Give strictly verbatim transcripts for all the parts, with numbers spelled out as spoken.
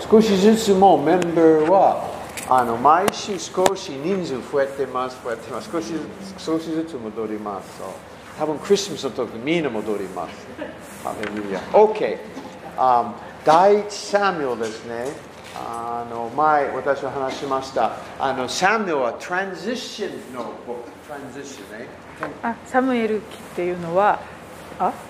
少しずつもメンバーはあの毎週少し人数増えてます、増えてます。少しずつ、少しずつ戻ります。多分クリスマスの時みんな戻ります。ハレルヤ。OK、um, 第一サミュエルですね。あの前私は話しました。あのサミュエルはトランジションのボック、トランジションね。 あ、サムエル記っていうのは、あ、あ、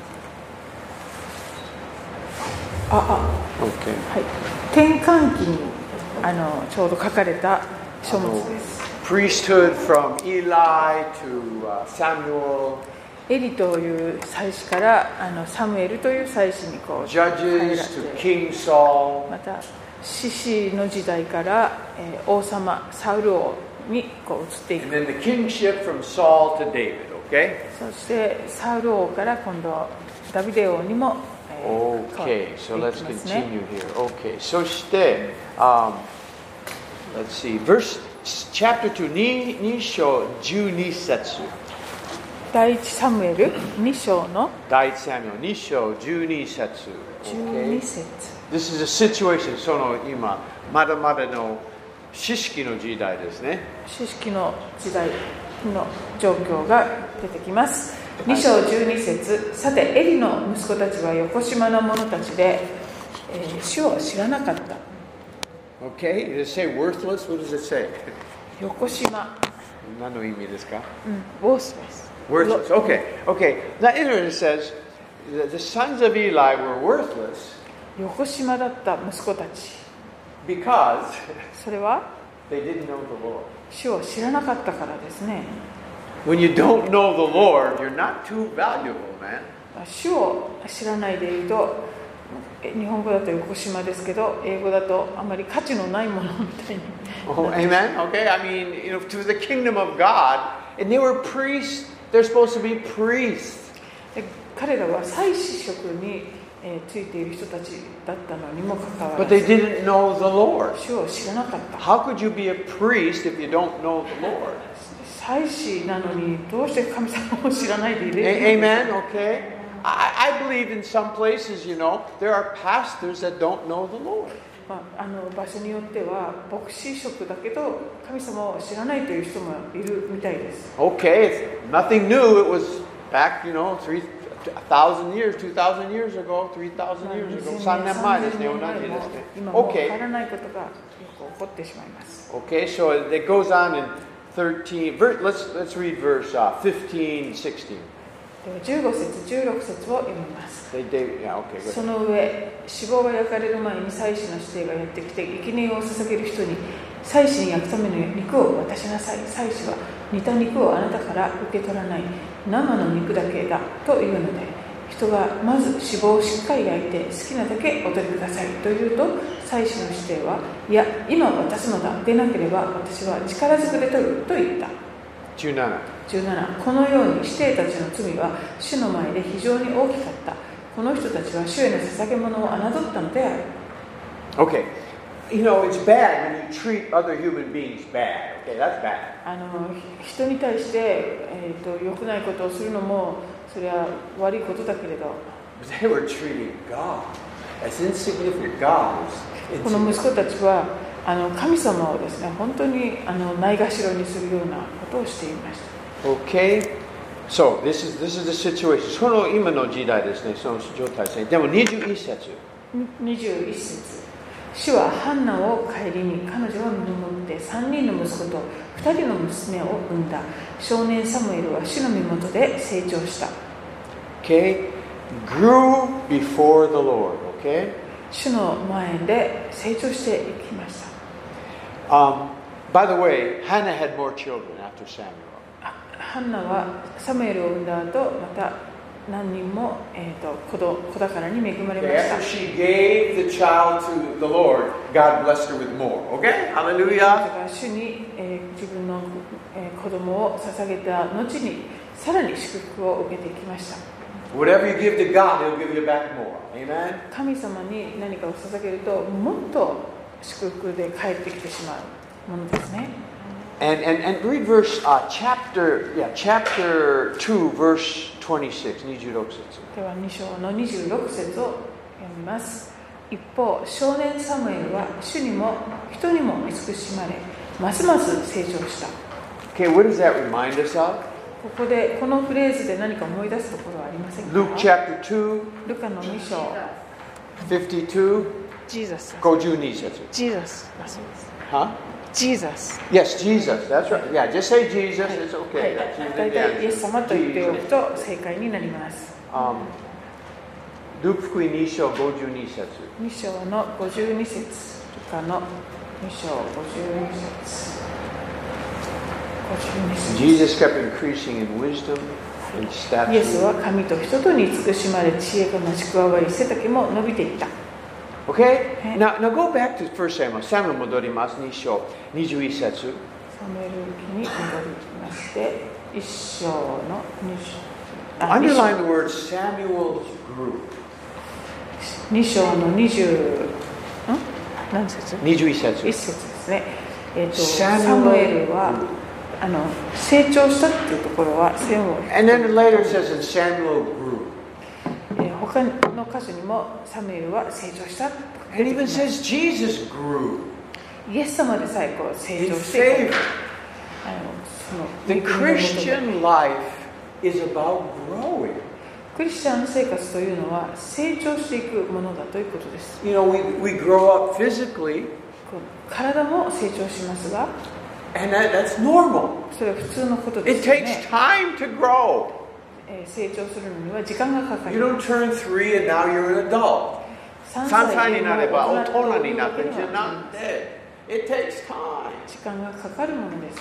あ、 OK、 はい、転換期にあのちょうど書かれた書物です。 Priesthood from Eli to、uh, Samuel。 エリという祭司からあのサムエルという祭司にこう変えら Judges れ to て、 King Saul。 また士師の時代から、えー、王様サウル王にこう移っていく。 And then the kingship from Saul to David, okay? そしてサウル王から今度ダビデ王にも、えー、 Okay, so 変わっ let's ていきますね。 continue here. Okay, そして、um, let's see, verse, chapter two, に章じゅうに節。 第一サムエルに章の第一サミュエルに章じゅうに節。 じゅうに節。 This is a situation, その今、まだまだの知識の時代ですね。 知識の時代の状況が出てきます。に章じゅうに節。さてエリの息子たちはよこしまな者たちで、えー、主を知らなかった。 Okay, does it say worthless? What does it say? よこしま、 何の意味ですか？ うん、ウォースレス。 Worthless. Okay, okay. Now, it says that the sons of Eli were worthless よこしまだった息子たち。 because それは they didn't know the Lord. 主を知らなかったからですね。 When you don't know the Lord, you're not too valuable, man. 主を知らないでいると、日本語だとよこしまですけど、英語だとあまり価値のないものみたいに。 Oh, amen. Okay, I mean, you know, to the kingdom of God, and they were priests. They're supposed to be priests. で彼らは祭司職に、えー、ついている人たちだったのにもかかわら But ず、 they didn't know the Lord. 主を知らなかった。 How could you be a priest if you don't know the Lord? 祭司なのにどうして神様を知らないでいる A- Amen. Okay. I, I believe in some places, you know, there are pastors that don't know the Lord. まあ、あの場所によっては牧師職だけど神様を知らないという人もいるみたいです。 Okay, it's nothing new. It was back, you know, three thousand years, two thousand years ago, three thousand years ago. さんねんまえですね、同じですね。 今もうわ Okay. からないことがよく起こってしまいます。 Okay, so it goes on in thirteen. Ver, let's let's read verse、uh, fifteen, sixteen. ではじゅうご節、じゅうろく節を読みます。 They, they, yeah, okay, そ good. の上、脂肪が焼かれる前に祭司の指定がやってきて、生贄を捧げる人に、祭司に焼くための肉を渡しなさい。祭司は煮た肉をあなたから受け取らない。生の肉だけだというので、人がまず脂肪をしっかり焼いて好きなだけお取りくださいと言うと、祭司の指定は、いや、今渡すのだ。でなければ私は力ずくで取ると言った。 じゅうなな. じゅうなな. このように指定たちの罪は主の前で非常に大きかった。この人たちは主への捧げ物を侮ったのである。 Okay. You know, it's bad when you treat other human beings bad. Okay, that's bad. あの人に対して、えー、と良くないことをするのもそれは悪いことだけれど、 But they were treating God as insignificant. God is この息 insignificant. 子たちはあの神様をですね、本当にあのないがしろにするようなことをしていました。 Okay. So, this is, this is the situation. その今の時代ですね、その状態ですね。でもにじゅういち節。 にじゅういち節。主はハンナを顧み、彼女を見守ってさんにんの息子とふたりの娘を産んだ。少年サムエルは主の身元で成長した。 Okay. Grew before the Lord. Okay. 主の前で成長していきました。 Um, by the way, Hannah had more children after Samuel. ハンナはサムエルを産んだ後、また何人も、えー、と 子, ど子宝に恵まれま Okay, した。 after she gave the child to the Lord, God blessed her with more. Okay? Hallelujah. 主に、えー、自分の、えー、子供を捧げた後にさらに祝福を受けていきました。 Whatever you give to God, He'll give you back more. Amen? 神様に何かを捧げるともっと祝福で返ってきてしまうものですね。 And, and, and read verse、uh, chapter, yeah, chapter two, verse twenty-six. にじゅうろく節。 ではに章のにじゅうろく節を読みます。 一方、少年サムエルは主にも人にも慈しまれ、ますます成長した。 Okay, what does that remind us of? ここでこのフレーズで何か思い出すところはありませんか？ Luke chapter two, ルカのに章 fifty-two, ジーザスごじゅうに節。 ジーザスだそうです。 Huh? ジーザス Yes, Jesus. That's right. Yeah, just say Jesus. It's は okay. い、 That's usually 大 the 体イエス answer. 様と言っておくと正解になります。 Um, ルーク福音に章ごじゅうに節。 に章のごじゅうに節、ルカのに章ごじゅうに節。ごじゅうに節。 Jesus kept increasing in wisdom and イエス stature. は神と人とに慈しまれ、知恵が増し加わり、背丈も伸びていった。 Okay? Now, now go back to First Samuel. Samuel 戻ります。に章にじゅういち節。 サムエル記に戻りまして、いっ章のに章。あ、に章 Underline the word Samuel's group. に章のにじゅう、ん何節？ にじゅういち節。 いっ節ですね。えっと、 ササムムエルエルはあの成長したっていうところは線を、 And then later it says that Samuel grew. えー他の箇所にもサムエルは成長した。 And even says Jesus grew イエス様でさえこう成 in 長してい favor. く。あのその The 恵みの下で Christian life is about growing. クリスチャン生活というのは成長していくものだということです。 You know, we, we grow up physically, こう体も成長しますが、 and that, that's normal. それは普通のことで It すよ takes ね。 time to grow. えー成長するのには時間がかかり You ま don't す。 turn three and now you're an adult. さんさんさいで歳になれば大人になってもう大人になっているわけではなって It takes time. 時間がかかるものです。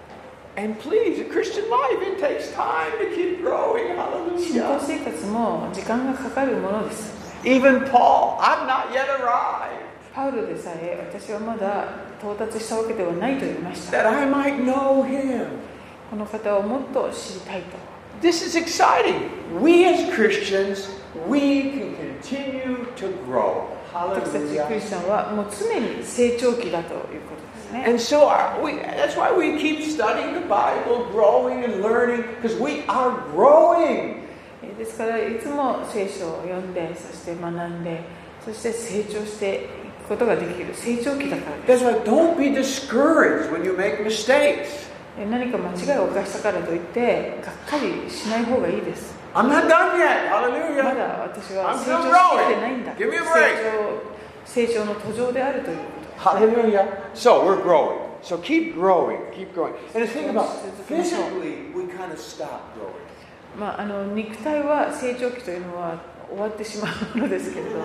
And please, the Christian life, it takes time to keep growing. 信仰 Hallelujah. 生活も時間がかかるものです。 Even Paul, I've not yet arrived, パウロでさえ私はまだ到達したわけではないと言いました。 that I might know him. この方をもっと知りたいと。 This is exciting. We as Christians, we can continue to grow. 私たちクリ Hallelujah. スチャンはもう常に成長期だということですね。 And so our, we, that's why we keep studying the Bible, growing and learning, because we are growing. ですからいつも聖書を読んで、そして学んで、そして成長していくことができる成長期だからです。 That's why don't be discouraged when you make mistakes. 何か間違いを犯したからといってがっかりしない方がいいです。 I'm not done yet. ま Hallelujah. だ私は I'm 成 still 長しきってないん growing. だ。 Give me a 成 break. 長、成長の途上であるということ。 Hallelujah. So we're growing. So keep growing. Keep growing. And the thing about physically, we kind of stop growing. まあ、あの肉体は成長期というのは終わってしまうものですけれど、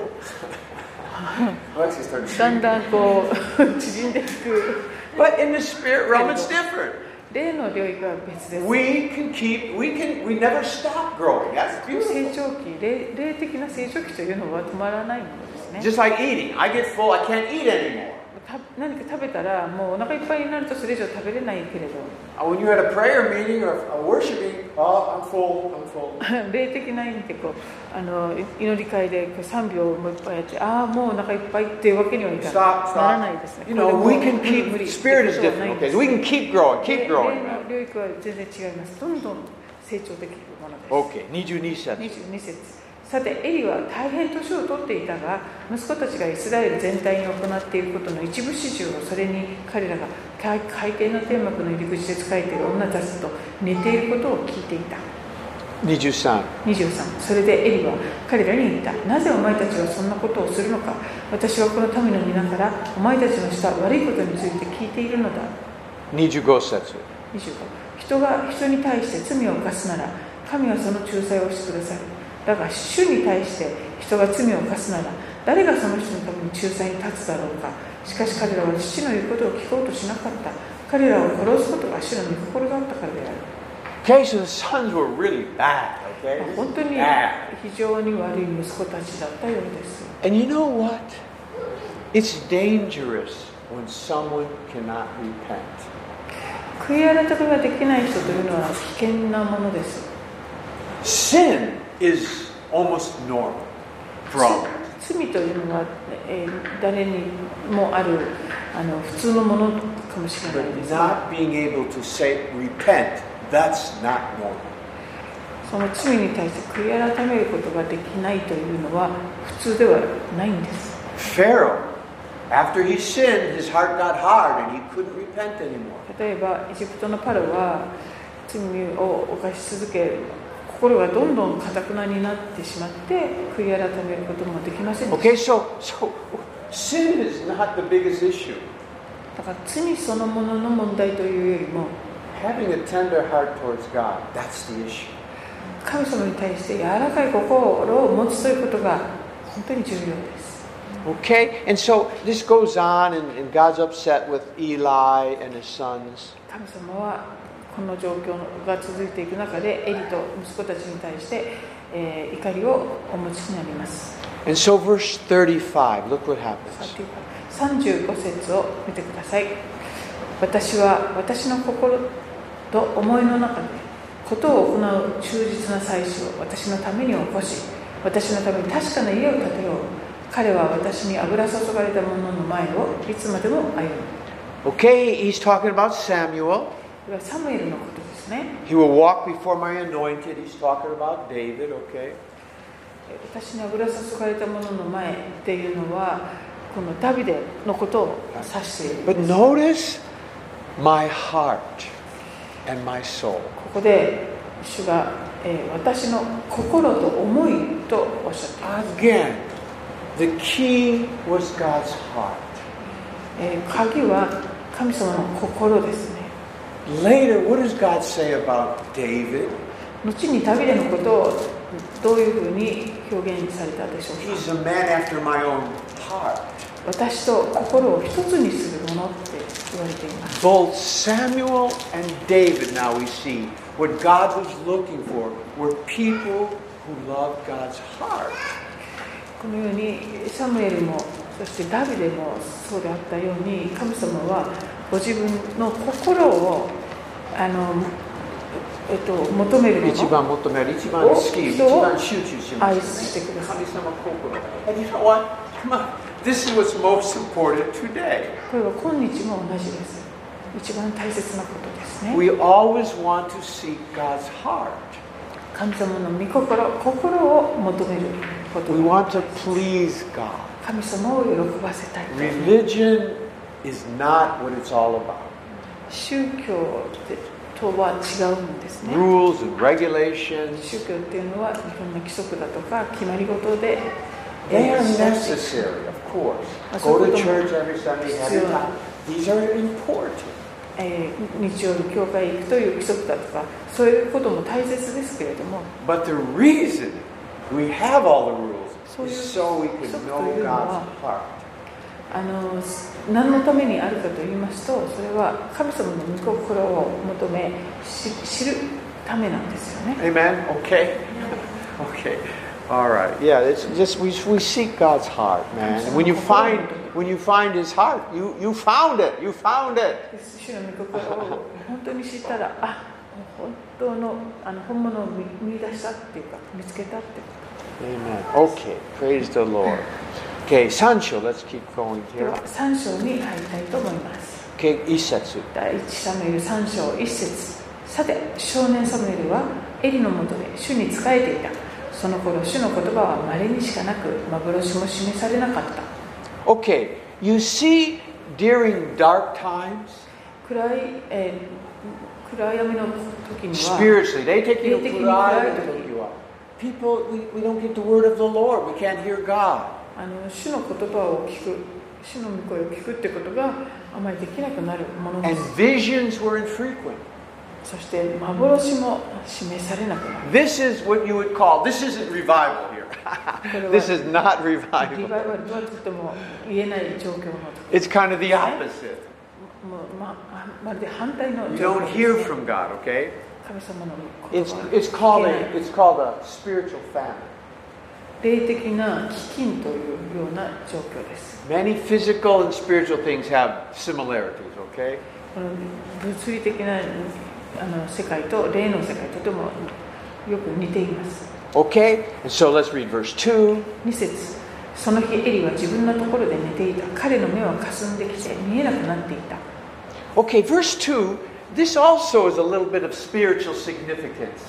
Let's just start だんだんこう縮んでいく。 But in the spirit realm, it's different. 霊の領域は別です。 We can keep, we can, we never stop growing. That's 成 beautiful. 長期、霊、霊的な成長期というのは止まらないものですね。 Just like eating. I get full, I can't eat anymore. た何か食べたらもうお腹いっぱいになるとそれ以上食べれないけれど、 Uh, When you're at a prayer meeting or a worshiping, oh, I'm full, I'm full. 霊的な意味でこうあの祈り会でこう賛美をもういっぱいやって、ああもうお腹いっぱいっていうわけにはいか Stop, なら stop. ないですね。 You これ know, も we can 無理無理 keep, spirit is ってことはない different. んで Okay, す。 so we can keep growing, 霊 keep 霊 growing. の領域は全然違います。どんどん成長できるものです。 Okay, にじゅうに節。 にじゅうに節。さてエリは大変年を取っていたが、息子たちがイスラエル全体に行っていることの一部始終を、それに彼らが海底の天幕の入り口で仕えている女たちと寝ていることを聞いていた。 にじゅうさん。 にじゅうさん。それでエリは彼らに言った。なぜお前たちはそんなことをするのか。私はこの民の皆からお前たちのした悪いことについて聞いているのだ。 にじゅうご節。 にじゅうご。人が人に対して罪を犯すなら、神はその仲裁をしてくださる。だが主に対して人が罪を犯すなら、誰がその人のために仲裁に立つだろうか。しかし彼らは父の言うことを聞こうとしなかった。彼らを殺すことが主の御心だったからである。 Okay, so the sons were really bad, okay? 本当に Bad. 非常に悪い息子たちだったようです。 And you know what? It's dangerous when someone cannot repent. 悔い改めができない人というのは危険なものです。 Sin is almost normal for all. 罪というのは、えー、誰にもあるあの普通のものかもしれない But ですが、 not being able to say, repent, that's not normal. その罪に対して悔い改めることができないというのは普通ではないんです。 Pharaoh, after he sinned, his heart got hard and he couldn't repent anymore. 例えばエジプトのパロは罪を犯し続け、心がどんどん堅くなになってしまって悔い改めることもできませんでした。 Okay, so, so sin is not the biggest issue. だから罪そのものの問題というよりも、 Having a tender heart towards God, that's the issue. 神様に対して柔らかい心を持つということが本当に重要です。 Okay, and so this goes on, and, and God's upset with Eli and his sons. 神様はこの状況が続いていく中でエリと息子たちに対して、えー、怒りをお持ちになります。 And so verse thirty-five, look what happens. さんじゅうご節を見てください。私は私の心と思いの中でことを行う忠実な祭司を私のために起こし、私のために確かな家を建てよう。彼は私に油注がれた者の前をいつまでも歩む。 Okay, he's talking about Samuel. これはサムエルのことですね。 He will walk before my anointed. He's talking about David, okay? 私に油注がれた者の前っていうのはこのダビデのことを指しているんです。 But notice my heart and my soul. ここで主が、えー、私の心と思いとおっしゃっています。 Again, the key was God's heart. えー、鍵は神様の心ですね。 Later, what does God say about David? 後にダビデのことをどういうふうに表現されたでしょうか。 He's a man after my own heart. 私と心を一つにするものって言われています。 Both Samuel and David, now we see, what God was looking for were people who loved God's heart. このようにサムエルもそしてダビデもそうであったように、神様はご自分の心をあの、えっと、求めるもの、 一番求める、一番好き、一番集中しますね。 愛してください。 神様心。And you know what? Come on. This is what's most important today. これは今日も同じです。一番大切なことですね。 We always want to seek God's heart. 神様の御心、心を求めること。 We want to please God. 神様を喜ばせたい。 Religion is not what it's all about. 宗教とは違うんですね。 Rules and regulations. 宗教っていうのはいろんな規則だとか決まり事で They are necessary, of course. Go to church every Sunday, have your time. These are important. えー、日曜日教会行くという規則だとかそういうことも大切ですけれども、 But the reason we have all the rules is so we can know God's heart. あの何のためにあるかと言いますと、それは神様の御心を求め知るためなんですよね。 Amen? Okay? Okay. All right. Yeah, it's just we we seek God's heart, man. And when you find when you find His heart, you you found it. You found it. 主の御心を本当に知ったら、あ、本当のあの本物を見見出したっていうか見つけたってこと。 Amen. Okay. Praise the Lord. Okay, 三章 let's keep going で here. はさん章に入りたいと思います。 Okay, 一節。 第一サムエルさん章一節。さて、少年サムエルはエリのもとで主に仕えていた。その頃、主の言葉は稀にしかなく、幻も示されなかった。 Okay, you see, during dark times, 暗い、えー、暗闇の時には、 spiritually, they take you 霊的に暗い時 people, we, we don't get the word of the Lord. We can't hear God. あの主の言葉を聞く、主の御声を聞くってことがあまりできなくなるもので And す。 visions were infrequent. そして幻も示されなくなる。 This is what you would call, this isn't revival here. This is not リバイ revival. バルとはとても言えない状況の時。 It's kind of the opposite. もうままるで反対の You 状 don't 況 hear ですね。 from God, okay? 神様の言 It's, 葉 it's, called a, it's called a spiritual famine. 霊的な飢饉というような状況です。 Many physical and spiritual things have similarities, okay? この物理的なあの世界と霊の世界とてもよく似ています。 Okay? And so let's read verse two. に節。その日エリは自分のところで寝ていた。彼の目は霞んできて見えなくなっていた。 Okay, verse two. This also is a little bit of spiritual significance.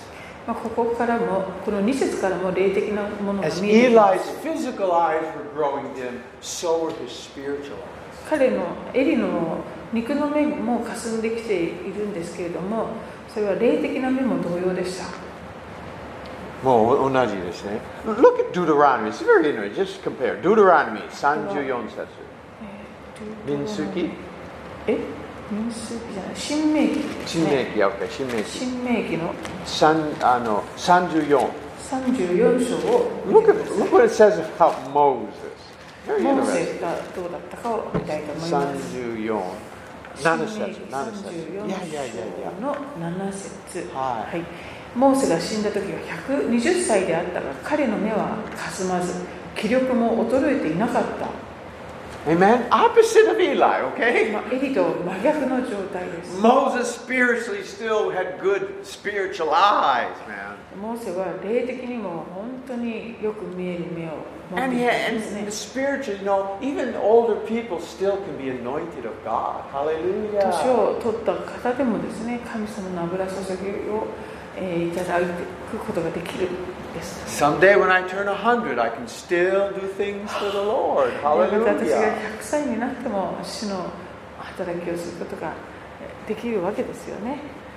まあ、ここからも、このに節からも霊的なものが As 見えてきま Eli's す。 physical eyes were growing dim, so were his spiritual eyes. 彼のエリの肉の目も霞んできているんですけれども、それは霊的な目も同様でした。 もう同じですね。Look at Deuteronomy. It's very interesting. Just compare. Deuteronomy さんじゅうよん節。民数記？ え？民数記じゃない。新明記ですね。 新明記、OK。新明記。 新明記のあのさんじゅうよん。 さんじゅうよん章を見 Look て at ください。 look what it says about Moses. Very モー interesting. セがどうだったかを見たいと思いさんます。 じゅうよん。 新明なな節。 記ななさんじゅうよん節。いやいやいやいや。 章のなな節。 はい。 はい。モーセが死んだ時はひゃくにじゅっさいであったが、彼の目はかすまず、気力も衰えていなかった。 Amen. Opposite of Eli, okay? まあ、エリと真逆の状態です。 Moses spiritually still had good spiritual eyes, man. モーセは霊的にも本当によく見える目を持って And い yeah, たん and ですね。 the spiritual, you know, even older people still can be anointed of God. 年 Hallelujah. を取った方でもですね、神様の油注ぎを、えー、いただくことができるです。 Someday when I turn one hundred, I can still do things for the Lord. また私が Hallelujah. ひゃくさいになっても主の働きをすることができるわけですよね。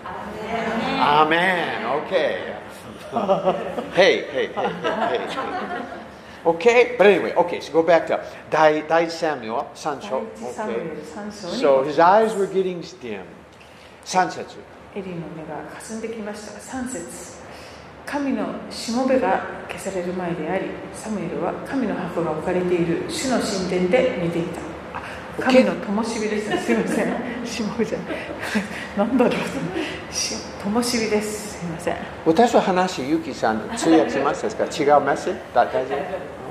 Amen. Okay. hey, hey, hey, hey, hey. Okay, but anyway, okay, so go back to Dai, Dai Samuel, さん章. 第一サムエ Okay. ルさん章に So his eyes were getting dim. さん節. エリの目が霞んできましたが、さん節。神のしもべが消される前であり、サムエルは神の箱が置かれている主の神殿で見ていた。神の灯火ですね。すみません。しもべじゃない。なんだろう。灯火です。すみません。 私は話、ゆきさん通訳しますか？違うメッセージ？大丈夫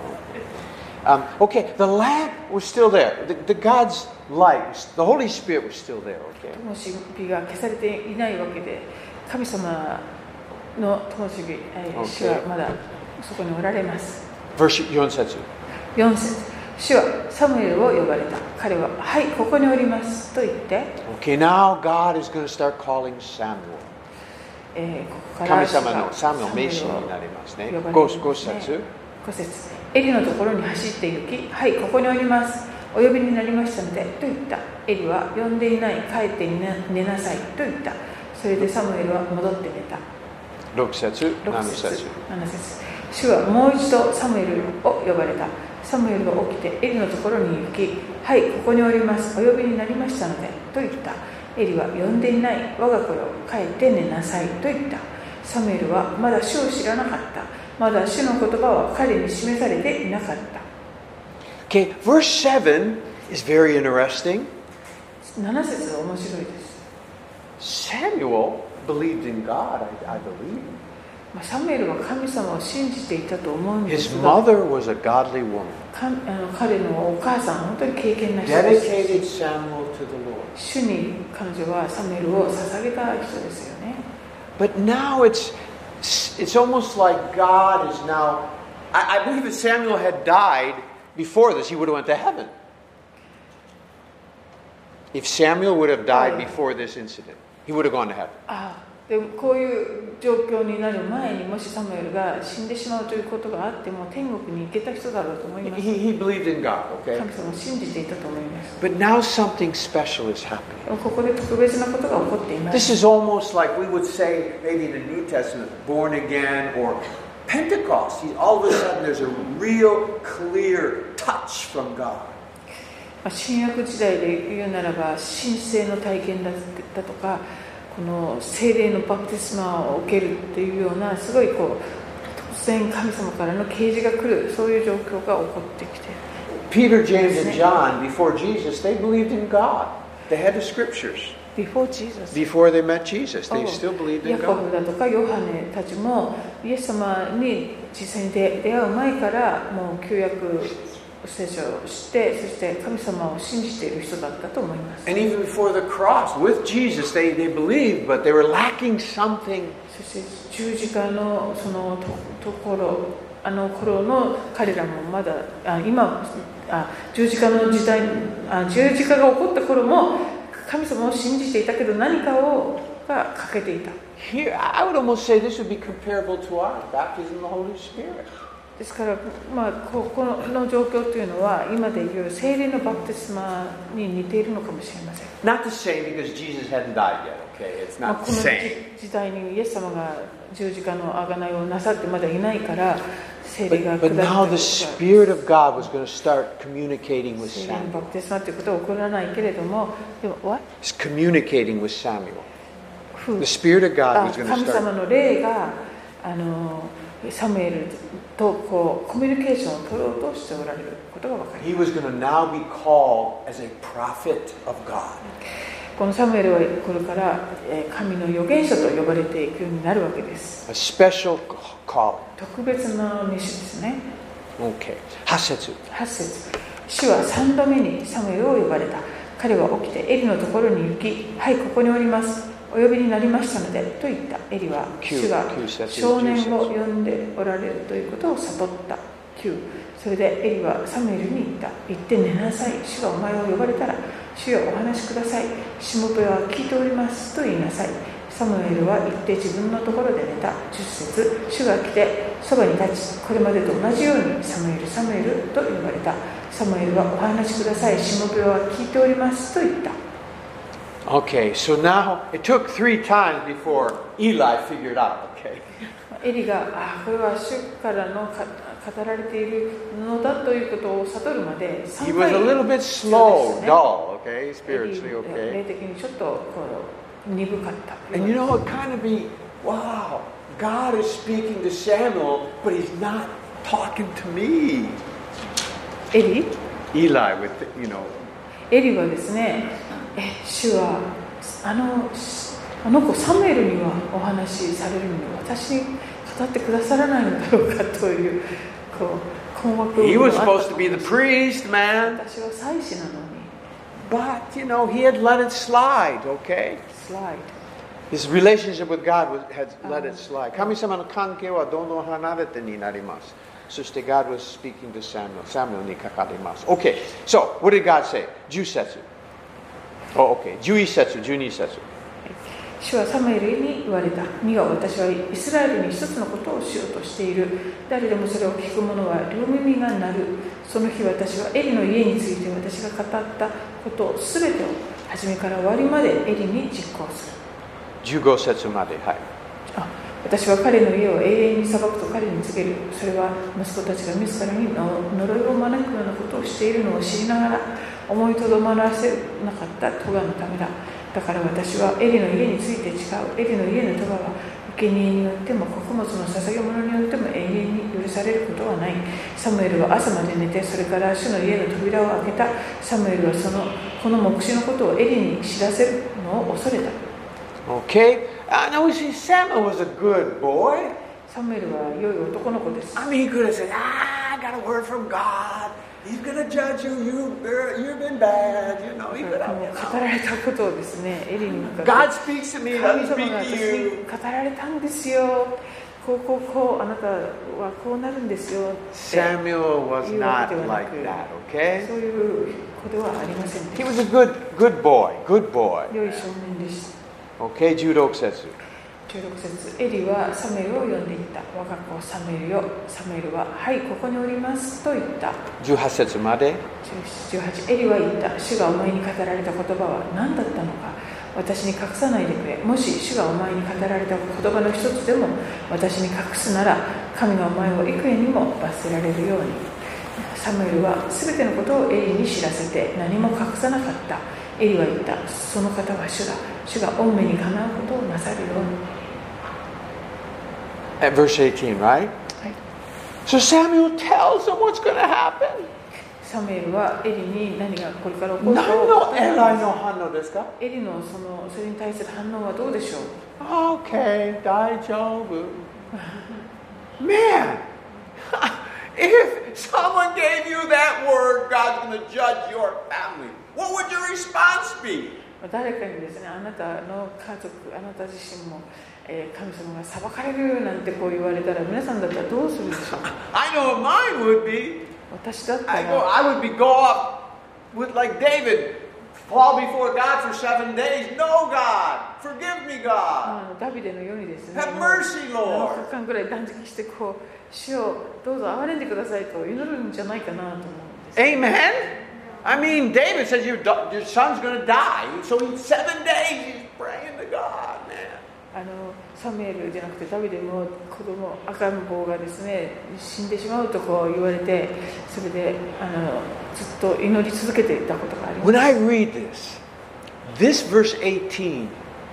？Um, okay, the lamp was still there. The, the God's light, the Holy Spirit was still there. Okay. 灯火が消されていないわけで、神様の灯火、えー、主はまだそこにおられます。 Verse よん節。 よん節。主はサムエルを呼ばれた。彼は、はい、ここにおりますと言って、 Okay, now God is going to start calling Samuel. えー、ここから神様のサムエル名詞になりますね。 ご節。 ご節。エリのところに走って行き、はい、ここにおります。お呼びになりましたので、と言った。エリは呼んでいない、帰って寝なさいと言った。それでサムエルは戻って寝た。 ろく節、 ろくなな節。 なな節。主はもう一度サムエルを呼ばれた。サムエルが起きてエリのところに行き、はい、ここにおります。お呼びになりましたので、と言った。エリは呼んでいない。我が子よ、帰って寝なさいと言った。サムエルはまだ主を知らなかった。まだ主の言葉は彼に示されていなかった。 Okay, verse seven is very interesting. なな節は面白いです。 Samuel believed in God, I, I believe. サムエルは神様を信じていたと思うんで His すが、 mother was a godly woman. かあの彼のお母さんは本当に敬虔な人です。 Dedicated Samuel to the Lord. 主に彼女はサムエルを捧げた人ですよね。 But now it's it's almost like God is now. I, I believe if Samuel had died before this, he would have went to heaven. If Samuel would have died before this incident, he would have gone to heaven. ああでもこういう状況になる前にもしサムエルが死んでしまうということがあっても天国に行けた人だろうと思います。 He, he believed in God, okay? 神様を信じていたと思います。 But now something special is happening. でもここで特別なことが起こっていま This す。 is almost like we would say, maybe in the New Testament, born again or Pentecost. All of a sudden, there's a real clear touch from God. 新約時代で言うならば神聖の体験だとかこの聖霊のバプテスマを受けるっていうようなすごいこう突然神様からの啓示が来るそういう状況が起こってきて Peter, James, and John, before Jesus, they believed in God. They had the scriptures. Before Jesus. Before they met Jesus, they still believed in ヤコブ God. だとかヨハネたちもイエス様に実際に出会う前からもう旧約聖書を知ってそして神様を信じている人だったと思います。 And even before the cross, with Jesus, they, they believed, but they were lacking something. そして十字架のそのとところあの頃の彼らもまだあ今あ十字架の時代あ十字架が起こった頃も神様を信じていたけど何かをがが欠けていた。 Here, I would almost say this would be comparable to our baptism of the Holy Spirit. ですから、まあ、ここの状況というのは今でいう聖霊のバプテスマに似ているのかもしれません。 Not the same because Jesus hadn't died yet, okay? It's まあ not こ the の same. 時代にイエス様が十字架の贖いをなさってまだいないから聖霊が But, 下 but って now the Spirit of God was going to start communicating with 聖霊のバ Samuel. プテスマということは起こらないけれども、でも what? He's communicating with Samuel. ふ The Spirit of God あ was going to 神様 start. の霊があのサムエルとこうコミュニケーションを取ろうとしておられることが分かります。 He was going to now be called as a prophet of God. このサムエルはこれからえー神の預言者と呼ばれていくようになるわけです。 A special calling. 特別な召しですね。 Okay. はち節。 はち節。主は三度目にサムエルを呼ばれた。彼は起きてエリのところに行き、はい、ここにおります。お呼びになりましたのでと言った。エリは主が少年を呼んでおられるということを悟った。きゅう。それでエリはサムエルに言った。行って寝なさい。主がお前を呼ばれたら、主よお話しください。しもべは聞いておりますと言いなさい。サムエルは行って自分のところで寝た。じゅっ節。主が来てそばに立ち、これまでと同じようにサムエルサムエルと呼ばれた。サムエルはお話しください。しもべは聞いておりますと言った。 Okay, so now it took three times before Eli figured out, okay? エリが、あ、これは主からのか語られているのだということを悟るまで He さん was 回 a little bit 必 slow, 要ですね。 dull, okay, エリ spiritually, 霊 okay? 的にちょっとこう鈍かった。 And you know, it kind of be, wow, God is speaking to Samuel, but he's not talking to me. エリ Eli with, the, you know, エリはですね、え、主はあのあの子サムエルにはお話しされるのに私に語ってくださらないのだろうかというこう困惑 he もあ was った supposed to be the priest, man. 私は祭司なのに But, you know, he had let it slide, okay? スライ His relationship with God was, had let it slide. 神様の関係はどんどん離れてになります。そして God was speaking to Samuel. Samuel にかかります。Okay, so what did God say? じゅっ節。Oh, okay. じゅういち節、じゅうに節。 主はサムエルに言われた。見よ、私はイスラエルに一つのことをしようとしている。誰でもそれを聞く者は両耳が鳴る。その日私はエリの家について私が語ったことをすべてを初めから終わりまでエリに実行する。 じゅうご節まで、はい。 あ、私は彼の家を永遠に裁くと彼に告げる。それは息子たちが自らに呪いを招くようなことをしているのを知りながら思いとどまらせなかった咎のためだ。だから私はエリの家について誓う。エリの家の咎は生贄によっても穀物の捧げ物によっても永遠に許されることはない。サムエルは朝まで寝て、それから主の家の扉を開けた。サムエルはそのこの黙示のことをエリに知らせるのを恐れた。 Okay? I know see, Samuel was a good boy. サムエルは良い男の子です。 I mean, he could have said, ah, I got a word from God. He's going to judge you. You, you've been bad. You know, he could have, you 語られたことをですね、エリに向か know. って God speaks to me. 神 Let 様 me が speak 私 to に you. 語られたんですよ。こうこうこうあなたはこうなるんですよ。 Samuel was 言うわ not けではな like く、 that, okay? そういう子ではありませんで He し was a good, good boy. Good boy. た。良い少年でした。 Okay, じゅうろく節。 じゅうろく節、エリはサムエルを呼んでいった。我が子サムエルよ。サムエルは、はい、ここにおりますと言った。 じゅうはち節まで。 じゅうはち、エリは言った。主がお前に語られた言葉は何だったのか。私に隠さないでくれ。もし主がお前に語られた言葉の一つでも私に隠すなら、神がお前を幾重にも罰せられるように。サムエルはすべてのことをエリに知らせて何も隠さなかった。エリは言った。その方は主だ。主が御目にかなうことをなさるように。 At verse eighteen, right? はい。 So Samuel tells him what's going to happen. サムエルはエリに何がこれから起こるか何をのエライの反応ですか？ エリのそのそれに対する反応はどうでしょう。 Okay, 大丈夫。Man, if someone gave you that word, God's going to judge your family. What would your response be? 誰かにですね、あなたの家族、あなた自身も、えー、神様が裁かれるなんてこう言われたら、皆さんだったらどうするでしょう。 I know what mine would be. 私だった I go, ら、 I would be go up with like David, fall before God for seven days. No, God, forgive me, God. あのダビデのようにですね、 Have mercy, なな Lord. 日間ぐらい断食してこう主をどうぞ憐れんでくださいと祈るんじゃないかなと思うんです。 Amen. I mean, David says your, your son's going to die. So in seven days he's praying to God, man. あのサムエルじゃなくてダビデも子供赤ん坊がですね死んでしまうとこう言われて、それであのずっと祈り続けていたことがあります。 When I read this, this verse eighteen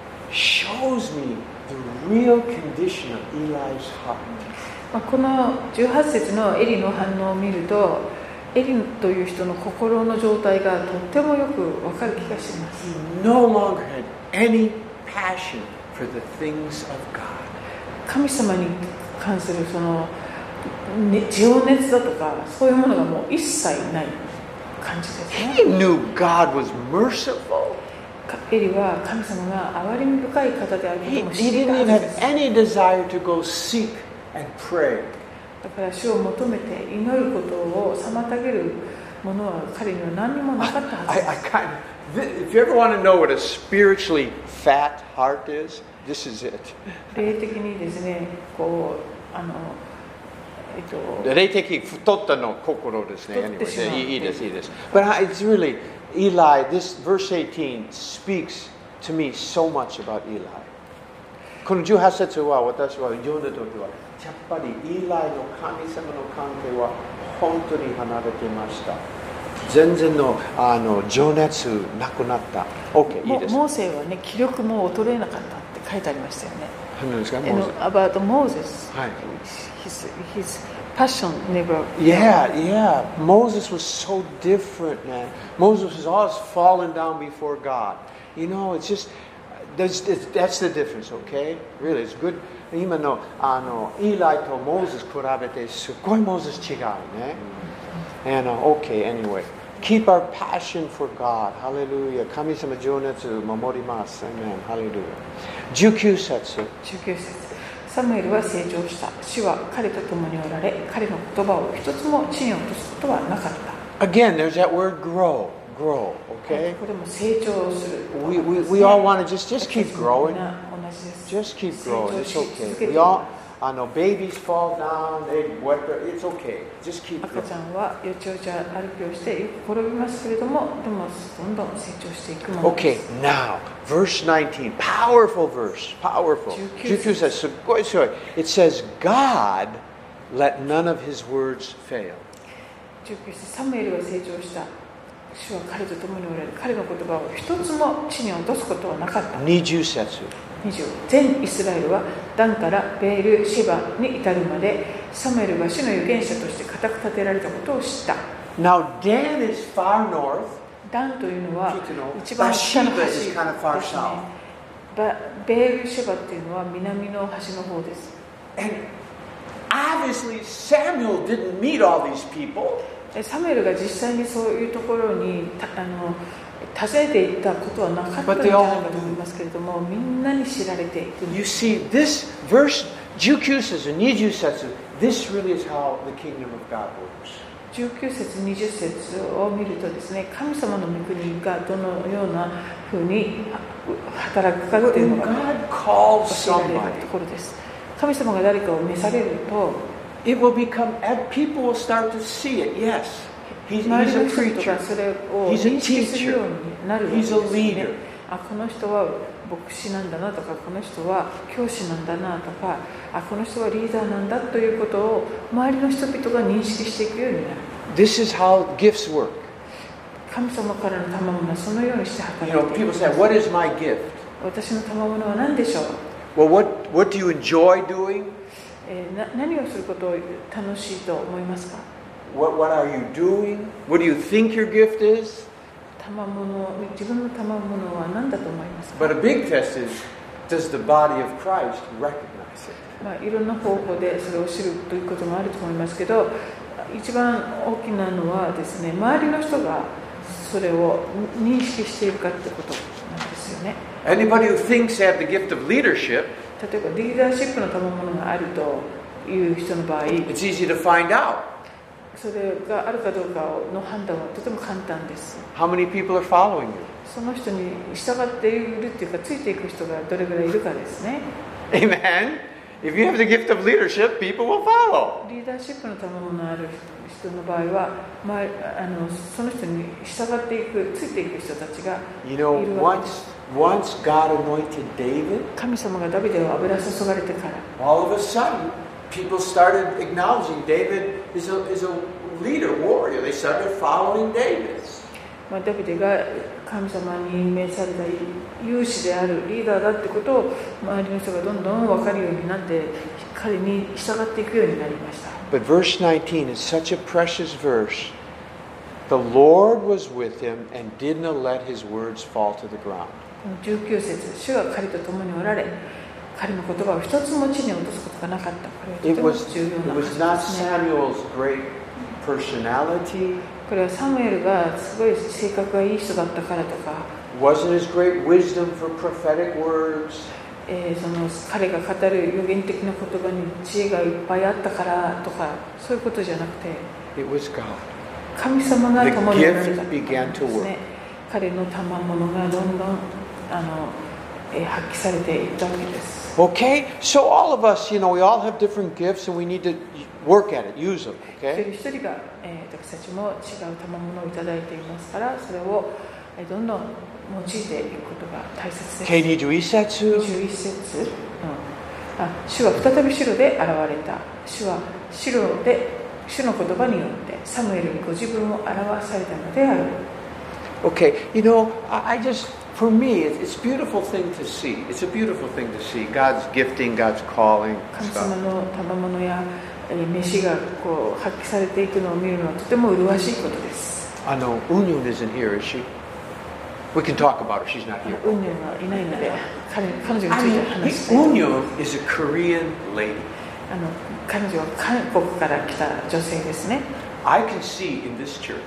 shows me the real condition of Eli's heart. まあこのじゅうはち節のエリの反応を見ると、エリという人の心の状態がとってもよくわかる気がします。 He no longer had any passion for the things of God. 神様に関するその、ね、情熱だとかそういうものがもう一切ない感じですね。 He knew God was merciful. エリは神様が憐れみ深い方であること He, も he 知りた didn't は even ずで have す。 any desire to go seek and pray. だから主を求めて祈ることを妨げるものは彼には何にもなかったはず I, I です。 kind of, if you ever want to know what a spiritually fat heart is, this is it. 霊的にですね、こうあのえっと霊的太ったの心ですね。 太ってしまう。 Anyway, いいですいいです。But it's really Eli. This verse eighteen speaks to me so much about Eli. このじゅうはち節は私は読んだ時はやっぱりイーライの神様の関係は本当に離れていました。全然のあの情熱なくなった。OK、いいです。 モーセはね、気力も衰えなかったって書いてありましたよね。 何ですか？ About Moses, はい。 his, his passion never. Yeah, yeah. Moses was so different, man. Moses was always falling down before God. You know, it's just that's that's the difference, okay? Really, it's good. 今のあのイーライとモーゼス比べてすごいモーゼス違うね。And uh, okay, anyway, keep our passion for God. Hallelujah. 神様情熱守ります。Amen. Hallelujah. じゅうきゅう節。 じゅうきゅう節。サムエルは成長した。主は彼と共におられ、彼の言葉を一つも地に落とすことはなかった。 Again, there's that word grow, grow, okay? これも成長する。 We, we, we all want to just, just keep growing. 同じです。 Just keep growing. It's okay. We all, I know babies fall down, they wet their, it's okay. Just keep 赤 growing. ちゃんはよちよち歩きをしてよく転びますけれども、でもどんどん成長していくもので Okay, す。 now, verse nineteen. Powerful verse. Powerful. じゅうきゅう節すっごい強い。It says, God let none of his words fail. じゅうきゅう節、サムエルは成長した。主は彼と共におられ、彼の言葉を一つも地に落とすことはなかった。 にじゅう節。 にじゅう全イスラエルはダンからベールシェバに至るまでサムエルが主の預言者として固く立てられたことを知った。 Now, Dan is far north. ダンというのは聞いての一番北の端 Bathsheba です is ね。 kind of far south. バベールシェバっていうのは南の端の方です。 And obviously, Samuel didn't meet all these people. サムエルが実際にそういうところにあの訪ねていったことはなかったんじゃないかと思いますけれども、みんなに知られていく。 You see, this verse, じゅうきゅう節、にじゅう節, this really is how the kingdom of God works. じゅうきゅう節、にじゅう節を見るとですね、神様の御国がどのようなふうに働くかっていうのが God calls 教えられ somebody, るところです。神様が誰かを召されると、 it will become, people will start to see it. Yes, he's, 周 he's り a の人々 preacher. がそれを He's a 認識するよう teacher. になるわけです He's よ a ね leader.。 あ、この人は牧師なんだなとか、この人は教師なんだなとか、あ、この人はリーダーなんだということを周りの人々が認識していくようになる。 This is how gifts work. 神様からの賜物はそのようにして働 You い know, てい people ます。 say, what is my gift? 私の賜物は何でしょう。 Well, what, what do you enjoy doing? えー、な何をすることを楽しいと思いますか。 What, what are you doing? What do you think your gift is? 賜物、自分の賜物は何だと思いますか。 But a big test is, does the body of Christ recognize it? まあ、いろんな方法でそれを知るということもあると思いますけど、一番大きなのはですね、周りの人がそれを認識しているかってことなんですよね。 Anybody who thinks they have the gift of leadership, 例えばリーダーシップの賜物があるという人の場合、 it's easy to find out. それがあるかどうかの判断はとても簡単です。 How many people are following you? その人に従っているっていうか、ついていく人がどれぐらいいるかですね。 Amen. If you have the gift of leadership, people will follow. リーダーシップの賜物のある人の場合は、まあ、あのその人に従っていく、ついていく人たちがい You る know, わけです。 once, once God anointed David, 神様がダビデを油注がれてから、 all of a sudden, people started acknowledging David is a, is a leader, warrior. They started following David. まあ、ダビデが神様に任命された勇士であるリーダーだってことを周りの人がどんどん分かるようになって、彼に従っていくようになりました。 But verse nineteen is such a precious verse. The Lord was with him and did not let his words fall to the ground. じゅうきゅう節、主が彼と共におられ、彼の言葉を一つも地に落とすことがなかった。これはとても重要な話ですね。 It was not Samuel's great personality. これはサムエルがすごい性格がいい人だったからとか、 Wasn't his great wisdom for prophetic words. えー、その彼が語る予言的な言葉に知恵がいっぱいあったからとか、そういうことじゃなくて、 It was God. 神様が共におられた The gift began to です work. ね。彼の賜物がどんどんあの、えー、発揮されていったわけです。 Okay, so all of us, you know, we all have different gifts, and we need to work at it, use them. 一 Okay. 人一人が、えー、私たちも違う賜物をいただいていますから、それを、えー、どんどん用いていくことが大切です。 ケーにじゅういち節。 じゅういち節、うん、あ、主は再びシロで現れた。主はシロで主の言葉によってサムエルにご自分を表されたのである。 Okay, you know, I, I just, for me, it's, it's a beautiful thing to see. It's a beautiful thing to see God's gifting, God's calling. 神 Stuff. 様の賜物や召しがこう発揮されていくのを見るのはとても麗しいことです。 I know Unyun isn't here, is she? We can talk about her. She's not here. ウンニョンはいないので、彼彼女につ I いて mean, 話したいと思います。 Unyun is a Korean lady. あの彼女は韓国から来た女性ですね。 I can see in this church,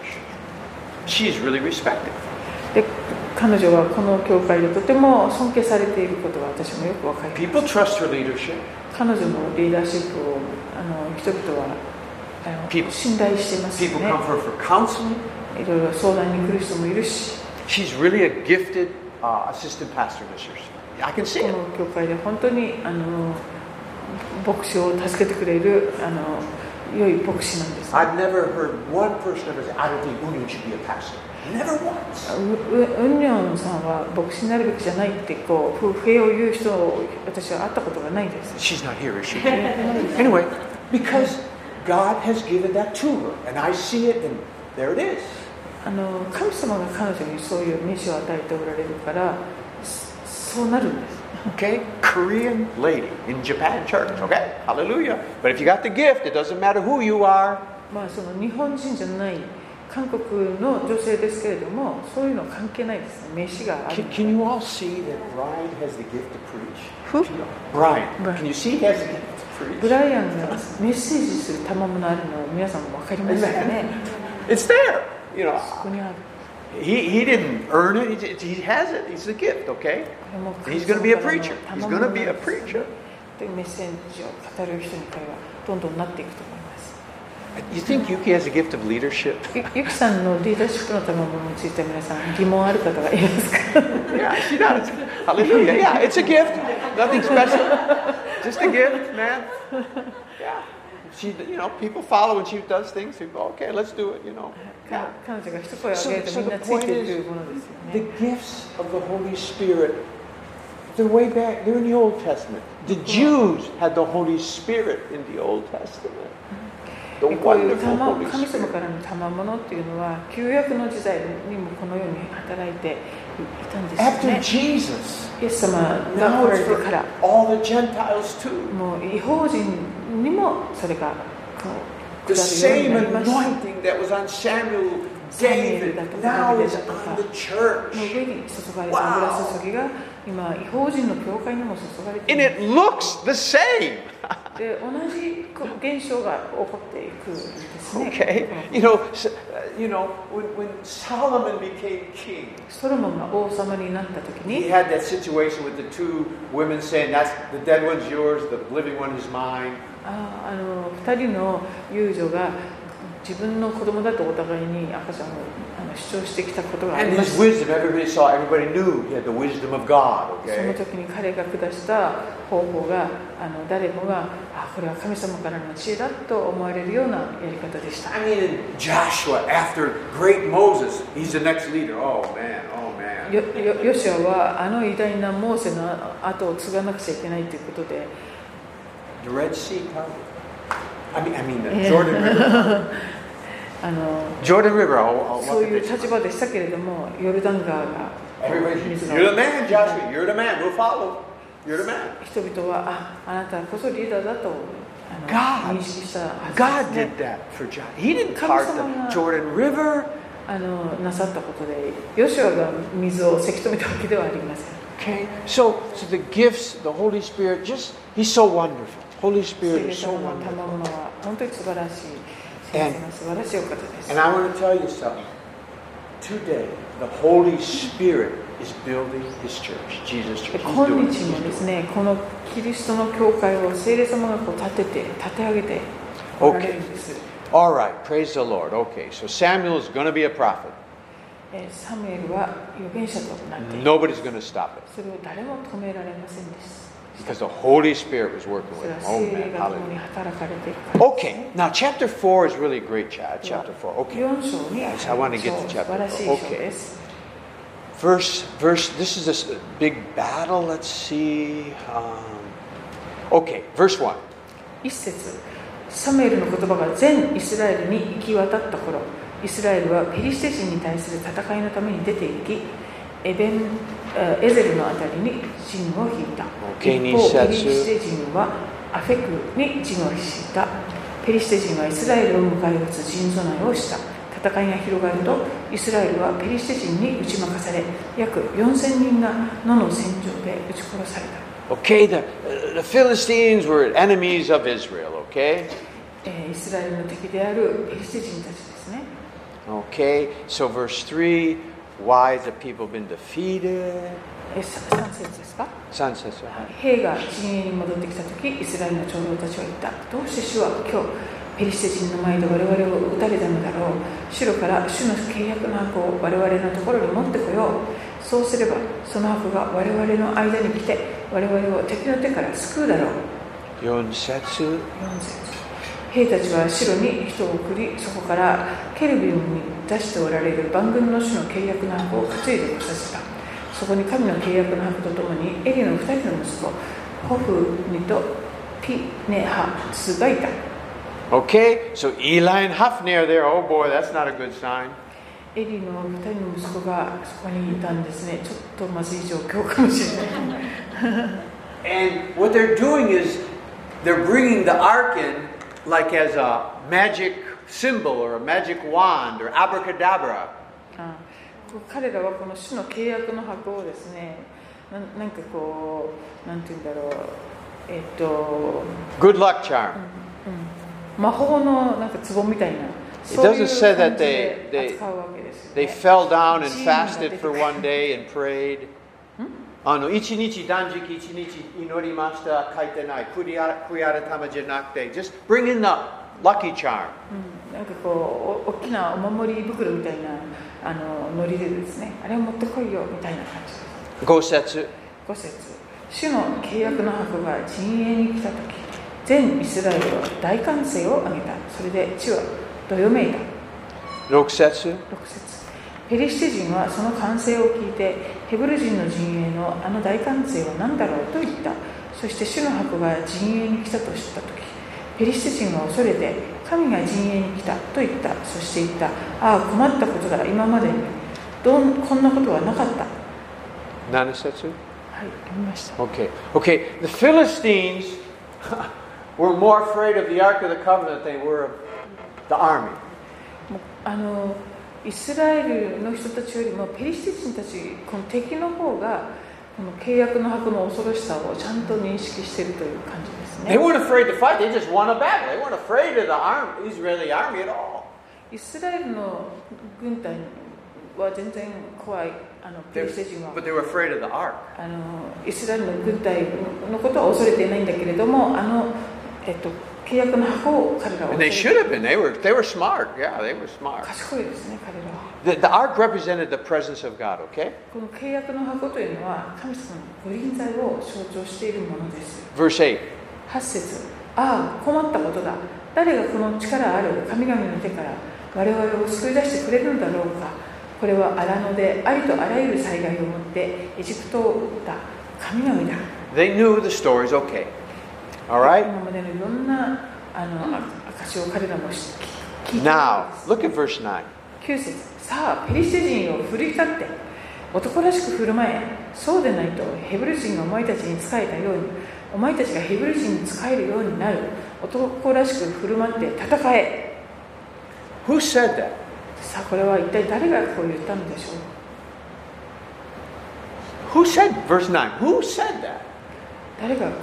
she's really respected. で、彼女はこの教会でとても尊敬されていることが私もよくわかります。 People trust her leadership. 彼女のリーダーシップをあの人々はあの People- 信頼していますよ People ね。 come for her for counseling. いろいろ相談に来る人もいるし、 She's really a gifted uh, assistant pastor this year. I can see こ it. の教会で本当にあの牧師を助けてくれるあの良い牧師なんです、ね。 I've never heard one person ever say, I don't think Unyun should be a pastor. Never once. ううウンニョンさんは牧師になるべきじゃないってこう不平を言う人を私は会ったことがないです。 She's not here, is she? Anyway, because God has given that to her. And I see it, and there it is. あの神様が彼女にそういう召しを与えておられるからそうなるんです。 Okay? Korean lady in Japan church. Okay? Hallelujah. But if you got the gift, it doesn't matter who you are. まあその日本人じゃない韓国の女性ですけれども、そういうのは関係ないですね。召しがある Can, can you all see that Brian has the gift to preach? Who? Brian. Brian. Can you see he has the gift to ブ preach? ライアンがメッセージする賜物あるのを皆さんも分かりますかね。 It's there. You know, ここにある。 he, he didn't earn it. He, he has it. He's the gift, okay? これも He's going to be a preacher. He's going to be a preacher. というメッセージを語る人に彼はどんどんなっていくと思います。 You think Yuki has a gift of leadership? ゆ, ゆきさんのリーダーシップの賜物について皆さん疑問ある方がいますか？ Yeah, she does. Hallelujah. Yeah, it's a gift. Nothing special. Just a gift, man. Yeah. She, you know, people follow when she does things. They go, okay, let's do it, you know. 彼 Yeah. 彼女が一声を So, 上げると so みん the なつい point てい is, くものですよ the ね。 gifts of the Holy Spirit, they're way back, they're in the Old Testament. The Jews had the Holy Spirit in the Old Testament. The こういう wonderful 賜 Holy 神様 Spirit. からの賜物っていうのは旧約の時代にもこのように働いていたんですよ After ね。 Jesus, イエス様が now 来ら it's れてから for all the Gentiles too. もう異邦人にもそれがこう The 下るよう same になりました。 anointing that was on Samuel, David, now is on the church. の上に注がれた油注ぎが今異邦人の教会にも注がれてい And ます。 it looks the same. で同じ現象が起こっていくんですね。 Okay, you know, s- uh, you know, when, when Solomon became king, ソロモンが王様になった時 he に had that situation with the two women saying, "That's the dead one's yours, the living one is mine." ああのふたりの遊女が自分の子供だとお互いに赤ちゃんをあの主張してきたことがあり And ま his す。 wisdom, everybody saw, everybody knew he had the wisdom of God, その okay? 時に彼が下した方法があの誰もがあこれは神様からの知恵だと思われるようなやり方でした。 I mean, in Joshua, after great Moses, he's the next leader. Oh man, oh man. よよヨシュアはあの偉大なモーセの後を継がなくちゃいけないということで The Red Sea parted. I mean, I mean, the Jordan River. あの Jordan River. I'll, I'll そういう立場でしたけれども、ヨルダン川が Everybody, 水が you're the man, Joshua. You're the man. We'll follow. You're the man. 人々はああなたこそリーダーだとあの God, 認識したはず God です did ね。 that for Joshua. He didn't part the Jordan River. あのなさったことで、ヨシュアが水をせき止めたわけではありません。 Okay, so so the gifts, the Holy Spirit, just He's so wonderful. Holy 聖 Spirit 霊 is so 様の wonderful. 賜物は本当に素晴らしい、先生の素晴らしいお方です。 And I want to tell you something. Today, the Holy Spirit is building His church, Jesus' church. He's 今 doing it. 日 He's も doing です it. ね、このキリストの教会を聖霊様がこう立てて、立て上げておられるんです。 All right, praise the Lord. Okay, so Samuel is going to be a prophet. えーサムエルは預言者となっている。 Nobody's going to stop it それを誰も止められませんでした。 because the Holy Spirit was working それ with は him. Oh 聖霊 man, が共に hallelujah. 働かれているからです Okay, ね。 now chapter four is really a great chapter. Chapter four. Okay. よん章に Yes, I want to get to 素 chapter 晴らしい four. 章 Okay. です。 Verse, verse, this is this big battle. Let's see. Um, okay, verse one. 一節、サムエルの言葉が全イスラエルに行き渡った頃、イスラエルはペリシテ人に対する戦いのために出て行き、エベンエゼルのあたりに陣を引いた。 Okay, 一方、 二節。 ペリシテ人はアフェクに陣を引いた。ペリシテ人はイスラエルを迎え撃つ陣備えをした。戦いが広がると、イスラエルはペリシテ人に打ち負かされ、約よんせんにんが野の戦場で撃ち殺された。 Okay, the, the Philistines were enemies of Israel, okay? えーイスラエルの敵であるペリシテ人たちですね。 Okay, so verse three, why has the people been defeated? えささん節ですか。 Sunset. 兵が陣営に戻ってきたとき、イスラエルの長老たちは言った。どうして主は今日、ペリシテ人の前で我々を撃たれたのだろう。主から主の契約の箱を我々のところに持ってこよう。そうすれば、その箱が我々の間に来て、我々を敵の手から救うだろう。 よん節。 よん節。兵たちは城に人を送り、そこからケルビムに出しておられる万軍の主の契約の箱を担いでこさせた。そこに神の契約の箱とともにエリの二人の息子ホフニとピネハツがいた。 Okay, so Eli and Hophni are there. Oh boy, that's not a good sign. エリの二人の息子がそこにいたんですね。ちょっとまずい状況かもしれない。 And what they're doing is they're bringing the ark in like as a magic symbol or a magic wand or abracadabra. あ彼らはこの主の契約の箱をですね、ななんかこう、なんていうんだろう、えっと、 Good luck charm. 魔法のなんか壺みたいな、 It そういう doesn't say 感 that じ they, で they, 扱うわけですよ they ね。 fell down and チームが fasted 出て for くる one day and prayed. あの一日断食一日祈りました書いてない悔い改めじゃなくて just bring in the lucky charm. うん、なんかこうお大きなお守り袋みたいなあのノリでですね、あれを持ってこいよみたいな感じです。 ご節。 ご節、主の契約の箱が陣営に来たとき、全イスラエルは大歓声を上げた。それで地はどよめいた。 ろく節。 ろく節、ペリシテ人はその歓声を聞いて、ヘブル人の陣営のあの大歓声は何だろうと言った。そして主の箱が陣営に来たと知ったとき、ペリシテ人は恐れて、神が陣営に来たと言った。そして言った。ああ、困ったことだ。今までにどんこんなことはなかった。 なな節。 はい、読みました。 Okay. Okay. The Philistines were more afraid of the Ark of the Covenant than they were of the army. もうあのイスラエルの人たちよりもペリシテ人たち、この敵の方がこの契約の箱の恐ろしさをちゃんと認識しているという感じですね。 They weren't afraid to fight. They just won a battle. They weren't afraid of the arm, Israeli army at all. イスラエルの軍隊は全然怖い。あのペリシテ人は But they were afraid of the ark. あのイスラエルの軍隊のことは恐れていないんだけれども、あの、えっと、 契約の箱を彼らは And they should have been. They were, they were smart. Yeah, they were smart. 賢いですね、彼らは。 The, the ark represented the presence of God, okay? この契約の箱というのは神様の御臨在を象徴しているものです。 Verse eight. はち節、ああ、困ったことだ。誰がこの力ある神々の手から我々を救い出してくれるのだろうか。これは荒野でありとあらゆる災害をもってエジプトを打った神々だ。 They knew the stories, okay. All right? 今までのいろんなあの証を彼らも聞いている。 Now, look at verse nine. きゅう節、さあペリシテ人を奮い立って男らしく振る舞え。そうでないとヘブル人がお前たちに仕えたようにお前たちがヘブル人に仕えるようになる。男らしく振る舞って戦え。 Who said that? さあこれは一体誰がこう言ったのでしょう。 Who said, verse nine, who said that? 誰がこう言ったのでしょ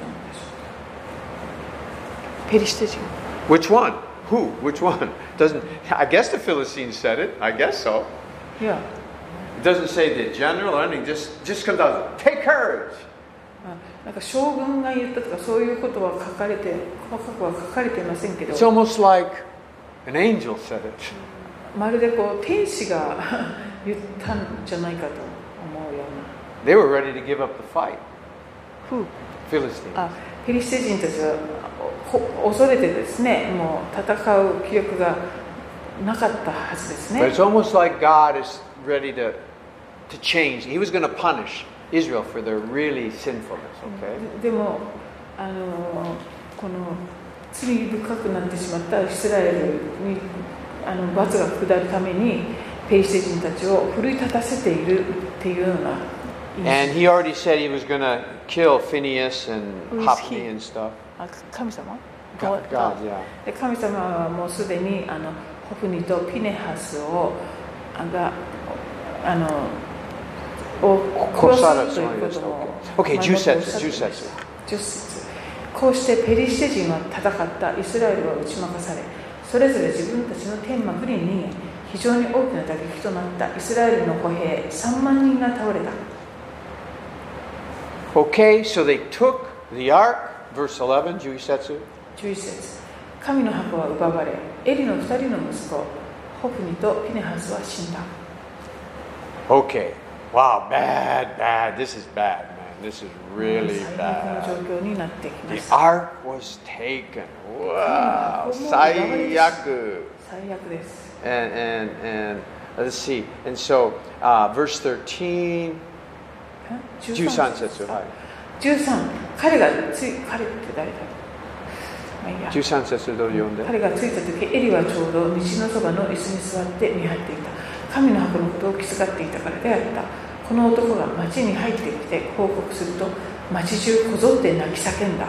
う。ペリシテ人。 Which one? Who? Which one? Doesn't, I guess the Philistines said it. I guess so. いや、 It doesn't say the general or anything. Just, just comes out, take courage. なんか将軍が言ったとかそういうことは書かれて細かくは書かれていませんけど、 It's almost like an angel said it. まるでこう天使が言ったんじゃないかと思うような。 They were ready to give up the fight. Who? Philistines. あ、ペリシテ人たちはほ恐れてですね、もう戦う気力がなかったはずですね。 But it's almost like God is ready to, to change. He was going to punish Israel for their really sinfulness, okay? でもあのこの罪深くなってしまったイスラエルにあの罰が下るためにペリシテ人たちを奮い立たせているっていうような。 And he already said he was going to kill Phineas and Who is Hophni he? and stuff. あ、神様 God, God, yeah. で神様はもうすでにあのホフニとピネハスをあがあのを殺すということも Okay, じゅっ節、じゅっ節。 じゅっ節。こうしてペリシテ人は戦ったイスラエルは打ち負かされ、それぞれ自分たちの天幕に逃げ、非常に大きな打撃となったイスラエルの歩兵さんまんにんが倒れた。 Okay, so they took the ark, verse eleven, じゅういち節。 じゅういち節。神の箱は奪われ、エリのふたりの息子、ホフニとピネハスは死んだ。 Okay, wow, bad, bad. This is bad, man. This is really 最悪の bad. 状況になってきま The す。 ark was taken. Wow, 最悪。 最悪です。 And, and, and let's see. And so, uh, verse thirteen, じゅうさん節。はい。 じゅうさん、彼がつい、彼って誰だろう。まあいいや。 じゅうさん節どう読んで。 彼が着いた時、エリはちょうど道のそばの椅子に座って見張っていた。神の箱のことを気遣っていたからであった。この男が町に入ってきて報告すると、町中こぞって泣き叫んだ。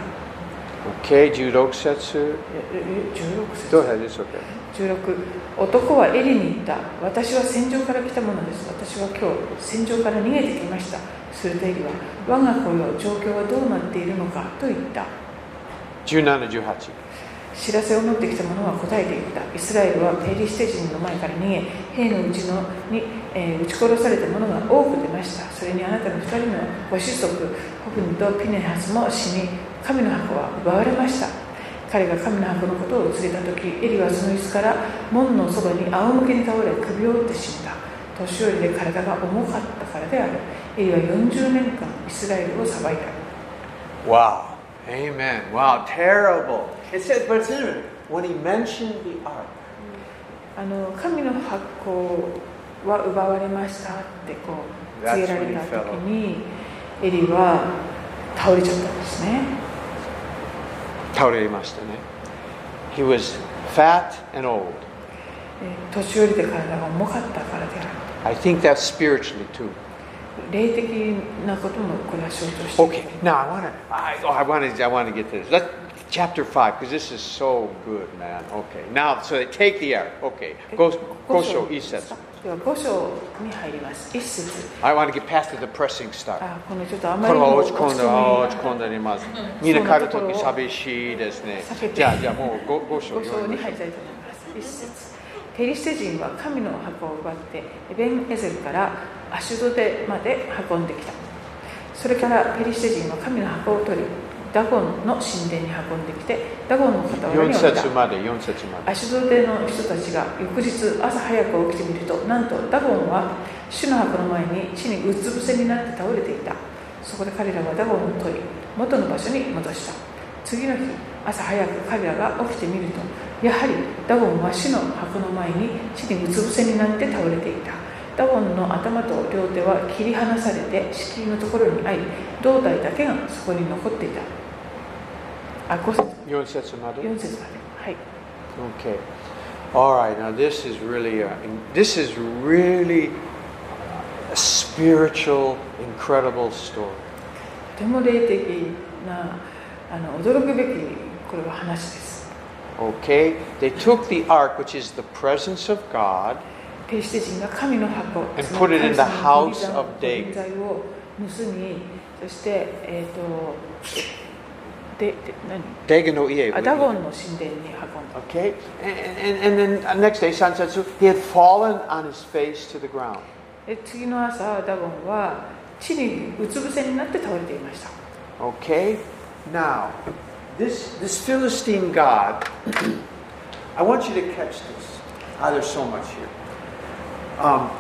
Okay, じゅうろく節。 じゅうろく節。 どうぞ、です。 じゅうろく、男はエリに言った。私は戦場から来たものです。私は今日戦場から逃げてきました。するとエリは、我が子よ、状況はどうなっているのかと言った。 じゅうなな、じゅうはち。 知らせを持ってきた者は答えていった。イスラエルはペリシテ人の前から逃げ、兵のうちのに、えー、撃ち殺された者が多く出ました。それにあなたの二人のご子息、ホフニとピネハスも死に、神の箱は奪われました。彼が神の箱のことを告げたとき、エリはその椅子から門のそばに仰向けに倒れ、首を折って死んだ。年寄りで体が重かったからである。エリはよんじゅうねんかんイスラエルを裁いた。 Wow. Amen. Wow, terrible. It says, but it's interesting. When he mentioned the ark, あの神の箱は奪われましたってこう告げられたときに、エリは倒れちゃったんですね。 倒れましたね。He was fat and old. 年寄りで体が重かったからである。 I think that's spiritually too. 霊的なこともこれは象徴している。 Okay, now I want to, I, oh, I want to, I want to get to this. Let's, chapter five, because this is so good, man. Okay, now, so they take the ark. Okay, go, go show, 一節。 ではご章に入ります。一節。 I want to get past the depressing stuff. あ、このちょっとあまこれはりにも落ち込んだ、落ち込んだります。みんな帰るとき寂しいですね。じゃあ、じゃあもうご、ご章。 ご章に入りたいと思います。一節。ペリシテ人は神の箱を奪ってエベンエゼルからアシュドデまで運んできた。それからペリシテ人は神の箱を取り、 ダゴンの神殿に運んできて、ダゴンの傍らに置いた。アシュドデの人たちが翌日朝早く起きてみると、なんとダゴンは主の墓の前に地にうつ伏せになって倒れていた。そこで彼らはダゴンを取り、元の場所に戻した。次の日朝早く彼らが起きてみると、やはりダゴンは主の墓の前に地にうつ伏せになって倒れていた。ダゴンの頭と両手は切り離されて敷居のところにあり、胴体だけがそこに残っていた。あ、ご節。 よん節まで。 よん節まで。はい。 Okay. All right. Now this is really a, this is really a spiritual, incredible story. とても霊的なあの驚くべきこれは話です。 Okay. They took the ark, which is the presence of God. ペリシテ人が神の箱、 And put it in the house of 神 David. 材を盗み、そしてえっ、ー、とでで何？ Dagon no ie. あ、ダゴンの神殿に運んだ。 Okay. And, and, and then next day, Sansetsu, he had fallen on his face to the ground. で次の朝ダゴンは地にうつ伏せになって倒れていました。 Okay. Now, this this Philistine god. I want you to catch this. Ah, there's so much here. Um,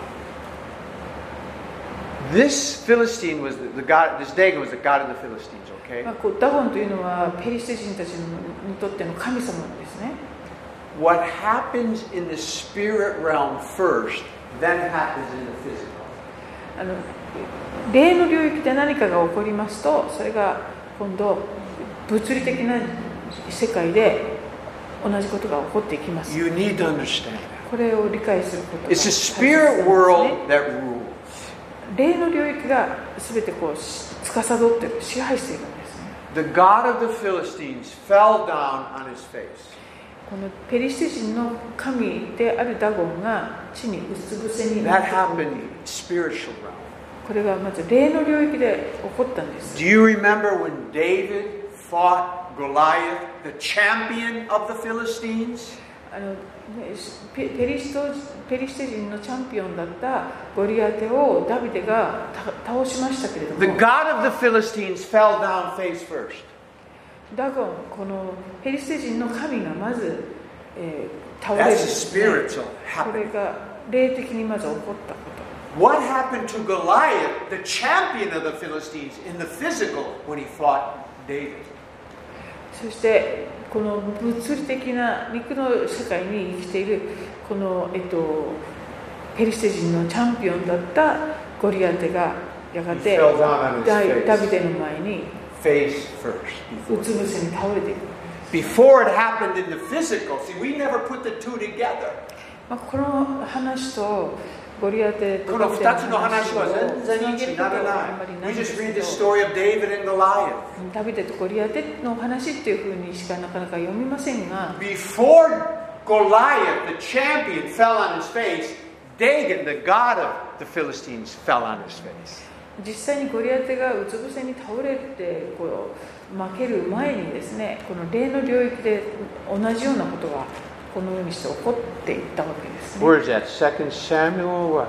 this Philistine was the, the god. This Dagon was the god of the Philistines. Okay. まあ、こうダゴンというのはペリシテ人たちにとっての神様ですね。 What happens in the spirit realm first, then happens in the physical. あの霊の領域で何かが起こりますと、それが今度物理的な世界で同じことが起こっていきます。 You need to understand that. これを理解することが It's the spirit world that rules. 霊の領域が全てこう司っている、支配しているんですね。 The god of the Philistines fell down on his face. このペリシテ人の神であるダゴンが地にうつ伏せにな That ってい happened る。 in spiritual realm. これがまず霊の領域で起こったんです。 Do you remember when David fought Goliath, the champion of the Philistines? あのペペリシトペリシテ人のチャンピオンだったゴリアテをダビデが倒しましたけれども、 The god of the Philistines fell down face first. ダゴン、このペリシテ人の神がまず、えー、倒れるん That's ですね。 spiritual これ happening. が霊的にまず起こったこと。 What happened to Goliath, the champion of the Philistines, in the physical when he fought David? そしてこの物理的な肉の世界に生きているこの、えっと、ペリシテ人のチャンピオンだったゴリアテがやがて ダ, ダビデの前に Face first. うつ伏せに倒れていく。 Before it happened in the physical, see, we never put the two together. まあ、この話とゴリアテとこのふたつの話は全然一致ならない。We just read the story of David and Goliath. ダビデとゴリアテの話っていうふうにしかなかなか読みませんが、 Before Goliath, the champion, fell on his face, Dagon, the god of the Philistines, fell on his face. 実際にゴリアテがうつ伏せに倒れてこう負ける前にですね、この霊の領域で同じようなことがこのようにして起こっていったわけですね。 Where is that? Second Samuel or what?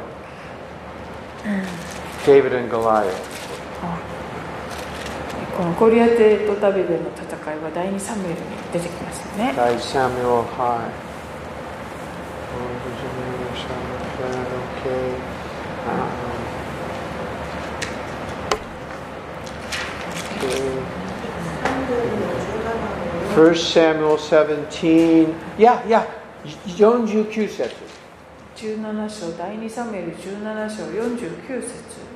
David and Goliath. このゴリアテとダビデの戦いは第二サムエルに出てきますよね。 第一サムエル、はい。First Samuel seventeen. Yeah, yeah. よんじゅうきゅう節。 じゅうなな章、第二サムエルじゅうなな章よんじゅうきゅう節。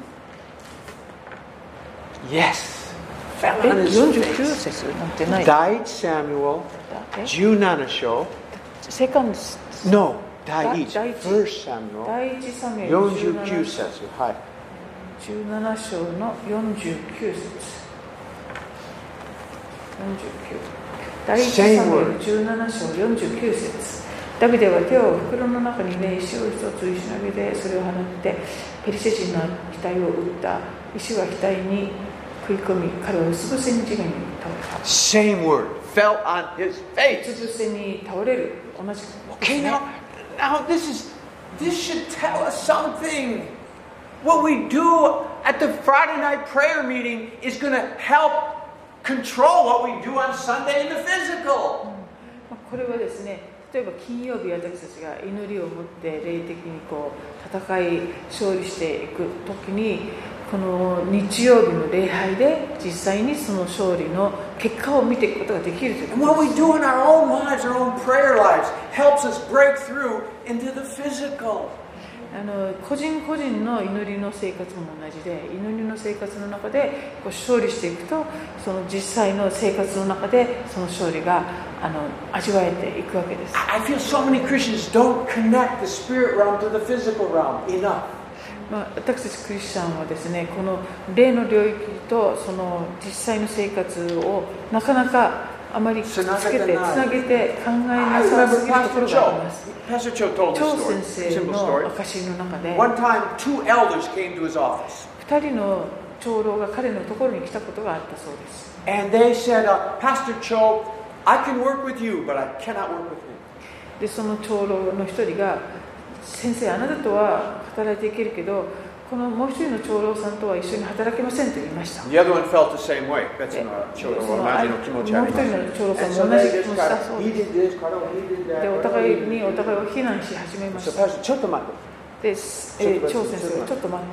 Yes. え、よんじゅうきゅう節なんてない。 第一サムエルじゅうなな章。 セカンド。 No. 第一。 第一 First Samuel。 第一サムエルよんじゅうきゅう節。はい。 じゅうなな章のよんじゅうきゅう節。よんじゅうきゅう。第一サムエルじゅうなな章よんじゅうきゅう節。ダビデは手を袋の中に入れ、石を一つ石投げでそれを放ってペリシテ人の額を打った。石は額に食い込み、彼はうつ伏せに地面に倒れた。 Same word. Fell on his う face. つ伏せに倒れる。同じ。 Okay, now, now this is this should tell us something. What we do at the Friday night prayer meeting is going to help control what we do on Sunday in the physical. これはですね、例えば金曜日私たちが祈りを持って霊的にこう戦い勝利していくときに、この日曜日の礼拝で実際にその勝利の結果を見ていくことができるということです。 And what we do in our own lives, our own prayer lives, helps us break through into the physical. あの個人個人の祈りの生活も同じで、祈りの生活の中でこう勝利していくと、その実際の生活の中でその勝利があの味わえていくわけです。 I feel so many Christians don't connect the spirit realm to the physical realm enough. まあ、私たちクリスチャンはですね、この霊の領域とその実際の生活をなかなかあまりくっつけてつなげて考えなさすぎるところがあります。 Pastor Cho told this 張 story. 先生 Simple の story. 証の中で、 One time, two elders came to his office, 二人の長老が彼のところに来たことがあったそうです。 and they said, uh, "Pastor Cho, I can work with you, but I cannot work with him." でその長老の一人が、先生あなたとは働いていけるけど、このもう一人の長老さんとは一緒に働けませんと言いました。 The other one felt the same way. 別の長老は同じの気持ちあります。 もう一人の長老さん And も so 同 they じ気 just 持ちだ got, そう he です。 did this, Carol, he did that. でお互いにお互いを非難し始めま So した。 Pastor, ちょっと待って。 で、えー、張先生、ちょっと待って。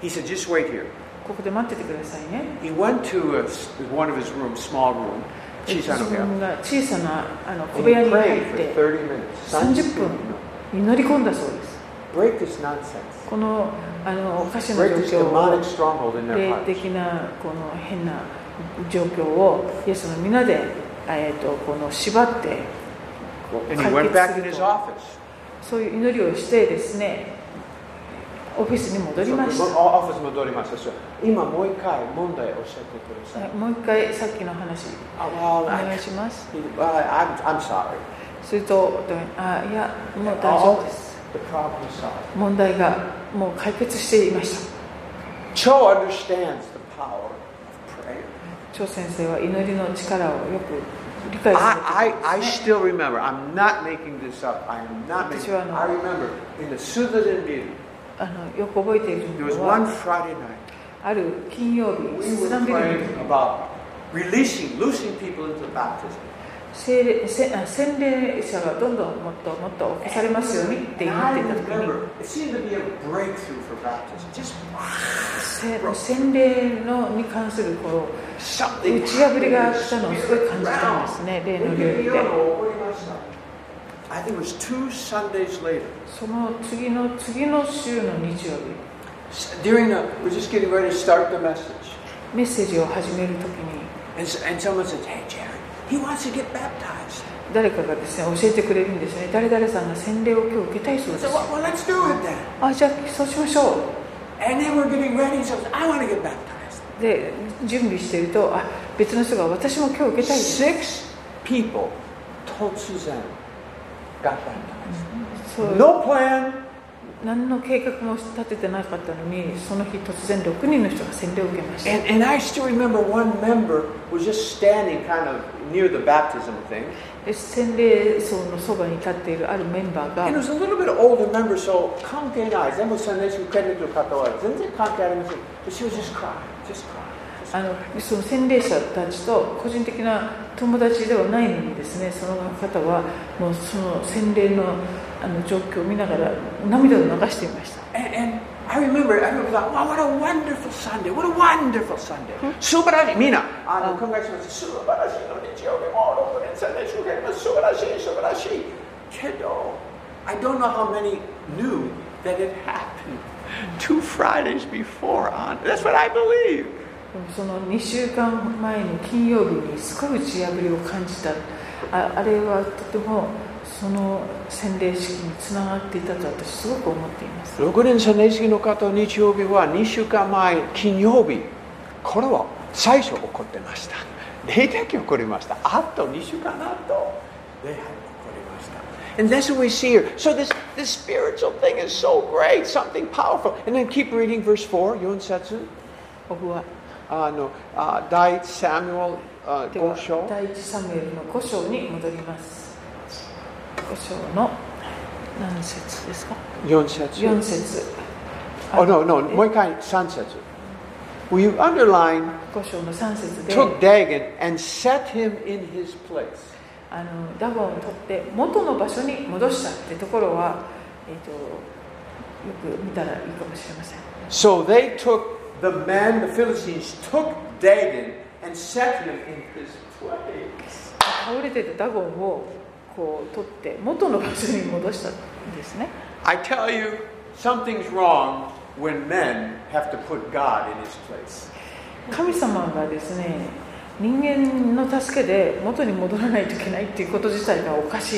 He said, "Just wait here." ここで待っててくださいね。 He went to a, one of his rooms, small room, 小さな部屋。 自分が小さなあの小 And 部屋 he に入 prayed っ for て thirty minutes. さんじゅっぷん祈り込んだそうです。 Break this nonsense. このあのおかしな Break 状 this 況 demonic を、 stronghold in their 霊 hearts. 的なこの変な状況をイエスの皆で、えー、とこの縛ってこう And he 解 went back 決 in す his ると、 office. そういう祈りをしてですね、オフィスに戻りました。 So, オフィス戻りました。今もう一回問題を教えてください。 もう一回さっきの話 Oh, お well, 願 I, いします。 well, I'm, I'm sorry. すると、あ、いや、もう大丈夫です。 The problem is solved. 問題がもう解決していました。 Cho understands the power of prayer. 張先生は祈りの力をよく理解されて I, い I, ま I すね。 still remember, I'm not making this up. I am not making 私はあの、 I remember in the Sutherland View, あのよく覚えている there was のは、 one Friday night. ある金曜日、 We ス were ダンビル praying に about releasing, loosing people into baptism. 聖霊せあ洗礼者がどんどんもっともっと起こされますようにって祈 And って I いた時に、 remember, it seemed to be a breakthrough for baptism. Just せ洗礼のに関するこう something 打ち破りが来たのをすごい感じたんですね、霊の領域で。 I think it was two Sundays later. その次の次の週の日曜日、 During the, we're just getting ready to start the message. メッセージを始めるときに、 And, and someone says, "Hey, Jerry, he wants to get baptized." 誰かがですね教えてくれるんですね。誰々さんが洗礼を今日受けたいそうで So, す。 well, well, let's do it then. あ、じゃあそうしましょう。 And then we're getting ready. So I want to get baptized. で準備していると、あ、別の人が私も今日受けたいです。 Six people, Totsuzen, got baptized. そう No plan. 何の計画も立ててなかったのに、その日突然ろくにんの人が洗礼を受けました。 And, and I still remember one member was just standing kind of near the baptism thing. で洗礼層のそばに立っているあるメンバーが、 And it was a little bit older member, so 関係ない。全部その人が来る方は全然関係ありません。But she was just crying, just crying. あのその洗礼者たちと個人的な友達ではないのにですね、その方はもうその洗礼のあの状況を見ながら涙を流していました。 And, and I remember, I remember thought, wow, what a wonderful Sunday, what a wonderful Sunday. 素晴らしい、みんな、あの、考えしました。素晴らしいの日曜日もろくねんさんねん祝言も素晴らしい、素晴らしい。けど、I don't know how many knew that it happened two Fridays before on. That's what I believe. そのにしゅうかんまえの金曜日にすごい打ち破りを感じた。 あ, あれはとてもその洗礼式につながっていたと私すごく思っています。 ろくねんさんねん式の方、日曜日はにしゅうかんまえ金曜日、これは最初起こってました。霊的起こりました。あとにしゅうかんあと礼拝起こりました。And that's what we see here. So this, this spiritual thing is so great, something powerful. And then keep reading verse four, よん節。 オフはあの、あ第一サムエルご章。 第一サムエルのご章に戻ります。ご章の何節ですか？ よん節。 よん節。 Oh, no, no, もう一回さん節。 Will you underline ご章のさん節で took Dagon and set him in his place? あのダゴンを取って元の場所に戻したってところは、えー、とよく見たらいいかもしれません。 So they took the men, the Philistines took Dagon and set him in his place. 倒れてたダゴンをこう取って元の場所に戻したんですね。 I tell you, something's wrong when men have to put God in his place. 神様がですね、人間の助けで元に戻らないといけないっていうこと自体がおかしい。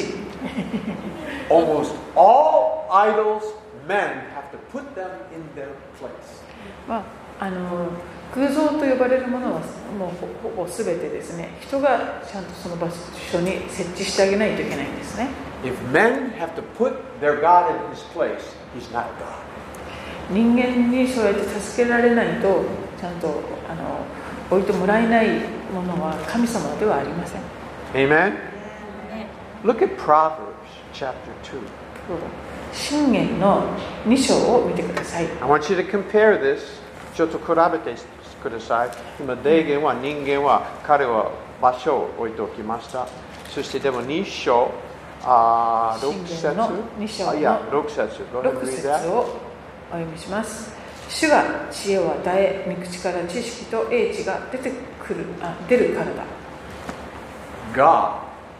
Almost all idols, men have to put them in their place. まあ、あの偶像と呼ばれるものはもうほぼすべてですね、人がちゃんとその場所に設置してあげないといけないんですね。 If men have to put their God in his place, he's not a God. 人間にそうやって助けられないとちゃんとあの置いてもらえないものは神様ではありません。 Amen? Look at Proverbs chapter two. 箴言のに章を見てください。 I want you to compare this. ちょっと比べてください。今、デーゲンは人間は彼は場所を置いておきました。そしてでもに章、あろく節、 に章のあいやろく節、 ろく節をお読みします。主が知恵を与え、御口から知識と英知が出てくる、あ、出るからだ。 God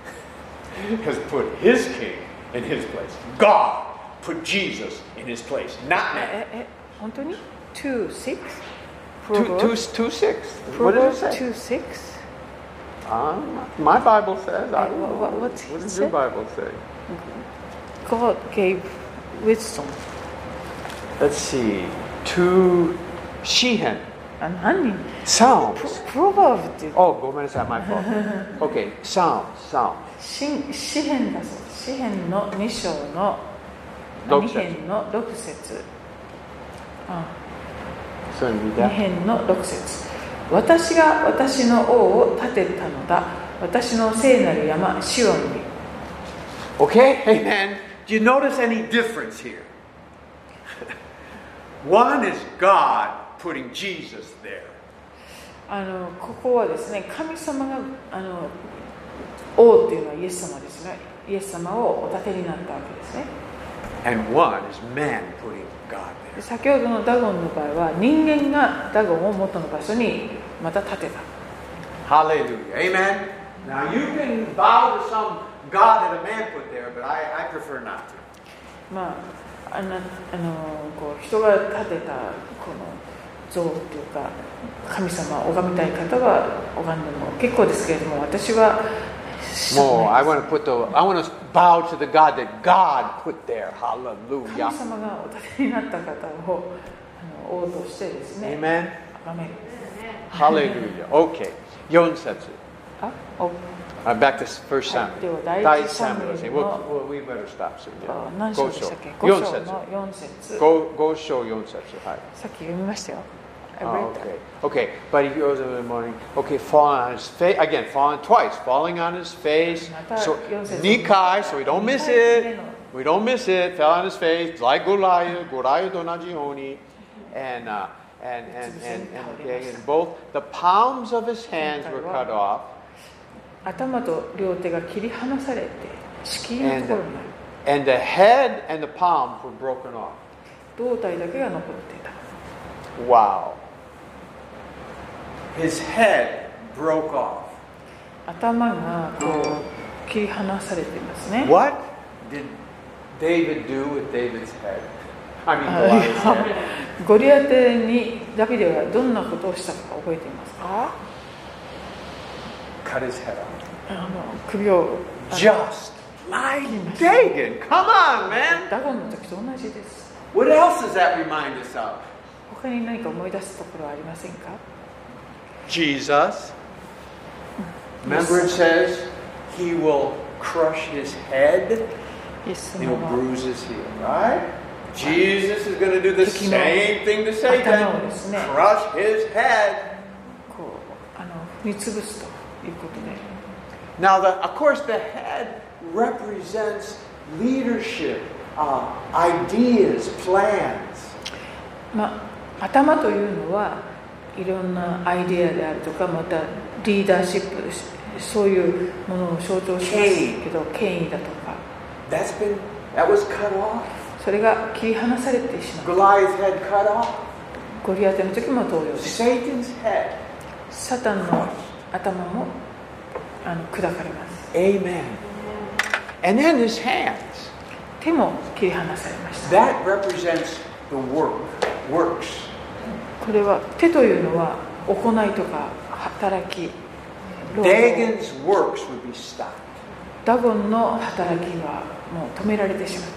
has put his king in his place. God put Jesus in his place, not man. え、え、本当に two six? Two, two, two, six. What does it say? two six? Um, my Bible says. I Hey, don't know. what- what's it What does say? your Bible say? God gave wisdom. Let's see. Two, Sheehan. あ、何 Psalms. プロバーブって Oh, ごめんなさい、my fault. Okay, Psalms, Psalms. 詩詩編だそうです。詩編のに章のに六節編のろく節。あ、 そういう意味にで。 編のろく節。私が私の王を立てたのだ。私の聖なる山シオンに。 Okay, amen. Do you notice any difference here? One is God putting Jesus there. あのここはですね、神様があの王っていうのはイエス様ですが、イエス様をお立てになったわけですね。 And one is man putting God で there. 先ほどのダゴンの場合は人間がダゴンを元の場所にまた立てた。 Hallelujah. Amen. Now you can bow to some God that a man put there, but I, I prefer not to. まあ、あのあのこう人が建てたこの像というか神様を拝みたい方は拝んでも結構ですけれども、私は More, I want to put the, I want to bow to the God that God put there. 神 Hallelujah. 様がお立てになった方をあの王としてですね、 Amen. 崇める。 Hallelujah. Okay. よん節。 あ、お Uh, back to First はい Samuel. では第一第一サムエ Samuel. ル We'll, の well, we better stop soon. あ Yeah. 何章でしたっけ？ 5 ご章。 章 4節。 のよん節。 5章よん節。はい。 さっき読みましたよ。I Oh, read that. okay. Okay. But he goes in the morning. Okay, falling on his face. Again, falling twice. Falling on his face. So, Nikai, so we don't miss it. We don't miss it. Fell on his face. Like Goliath. Goliath と同じように. And, uh, and, and, and, and, okay, and both the palms of his hands were cut off. 頭と両手が切り離されて敷居のところにある。 And the head and the palms were broken off. 胴体だけが残っていた。 Wow. His head broke off. 頭がこう切り離されていますね。 What did David do with David's head? I mean, あ Goliath's head. ゴリアテにダビデはどんなことをしたか覚えていますか？ Cut his head off. あの首を Just like Dagon. Come on, man. ダゴンの時と同じです。 What else does that remind us of? 他に何か思い出すところはありませんか？ Jesus. Remember it says he will crush his head. イエス He'll 様は bruise his heel, right? Jesus is going to do the same thing to Satan. Crush his head. こうあの踏み潰すということで。 Now, the, of course, the head represents leadership, uh, ideas, plans. まあ、頭というのはいろんなアイデアであるとか、またリーダーシップ、そういうものを象徴しますけど、権威だとか、 That's been, that was cut off. それが切り離されてしまう。 Goliath's head cut off. ゴリアテの時も同様です。 Satan's head. サタンの頭もあの砕かれます。 Amen. And then his hands. 手も切り離されました。 That represents the work, works. これは手というのは行いとか働き、労働。 Dagon's works would be stopped. ダゴンの働きはもう止められてしまった。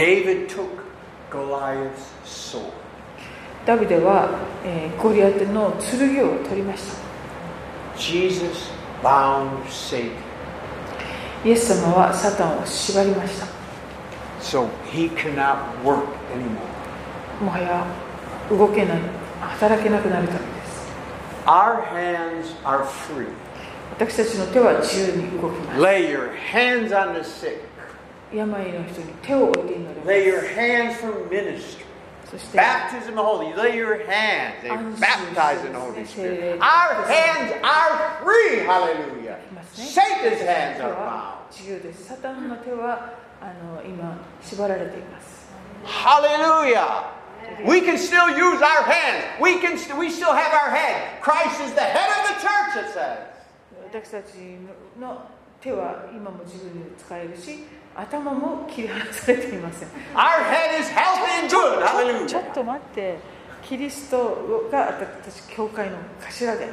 David took Goliath's sword. ダビデは、えー、ゴリアテの剣を取りました。 Jesus bound Satan. イエス様はサタンを縛りました。 So he cannot work anymore. もはや動けない、働けなくなるためです。 Our hands are free. 私たちの手は自由に動きます。 Lay your hands on the sick. 病の人に手を置いて祈ります。 Lay your hands for ministry. そして Baptism of the Holy. Lay your hands. They baptize in the Holy Spirit. Our hands are free. Hallelujah. Satan's hands are bound. 自由です。サタンの手はあの今縛られています。 Hallelujah. We can still use our hands. We can. We still have our head. Christ is the head of the church. It says. 私たちの手は今も自分で使えるし、頭も切り離されていません。 Our head is healthy and good. Hallelujah. ちょっと待って、キリストが私たち教会の頭であられる。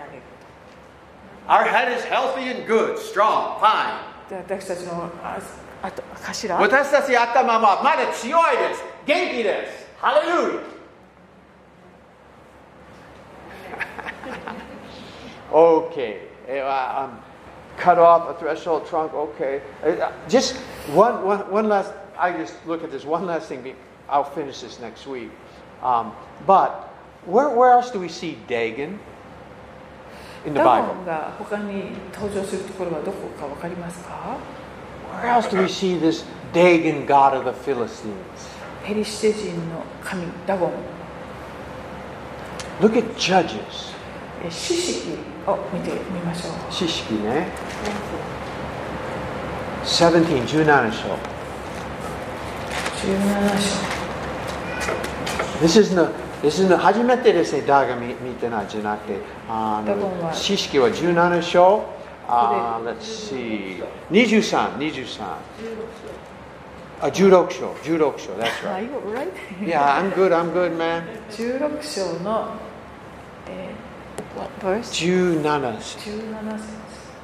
Our head is healthy and good, strong, fine. 私たちのああと頭。 私たち頭はまだ強いです。元気です。Hallelujah. Okay. Uh, um, cut off a threshold trunk. Okay. Uh, just one, one, one last. I just look at this one last thing. I'll finish this next week. Um, but where, where else do we see Dagon in the ダ Bible? ゴンが他に登場するところはどこかわかりますか？ Where else do we see this Dagon, god of the Philistines? ペリシテ人の神ダゴン。 Look at Judges. 四式を見てみましょう。 四式ね。じゅうなな、じゅうなな章。 じゅうなな章。 This is the, this is the 初めてですね、ダが見見てないじゃなくて、あの四式はじゅうなな章。あ、let's see。にじゅうさん、にじゅうさん。あ、じゅうろく章、じゅうろく章。That's Are right. you right? Yeah, I'm good, I'm good, man. じゅうろく章の、えー、what verse? じゅうなな節。 じゅうなな節。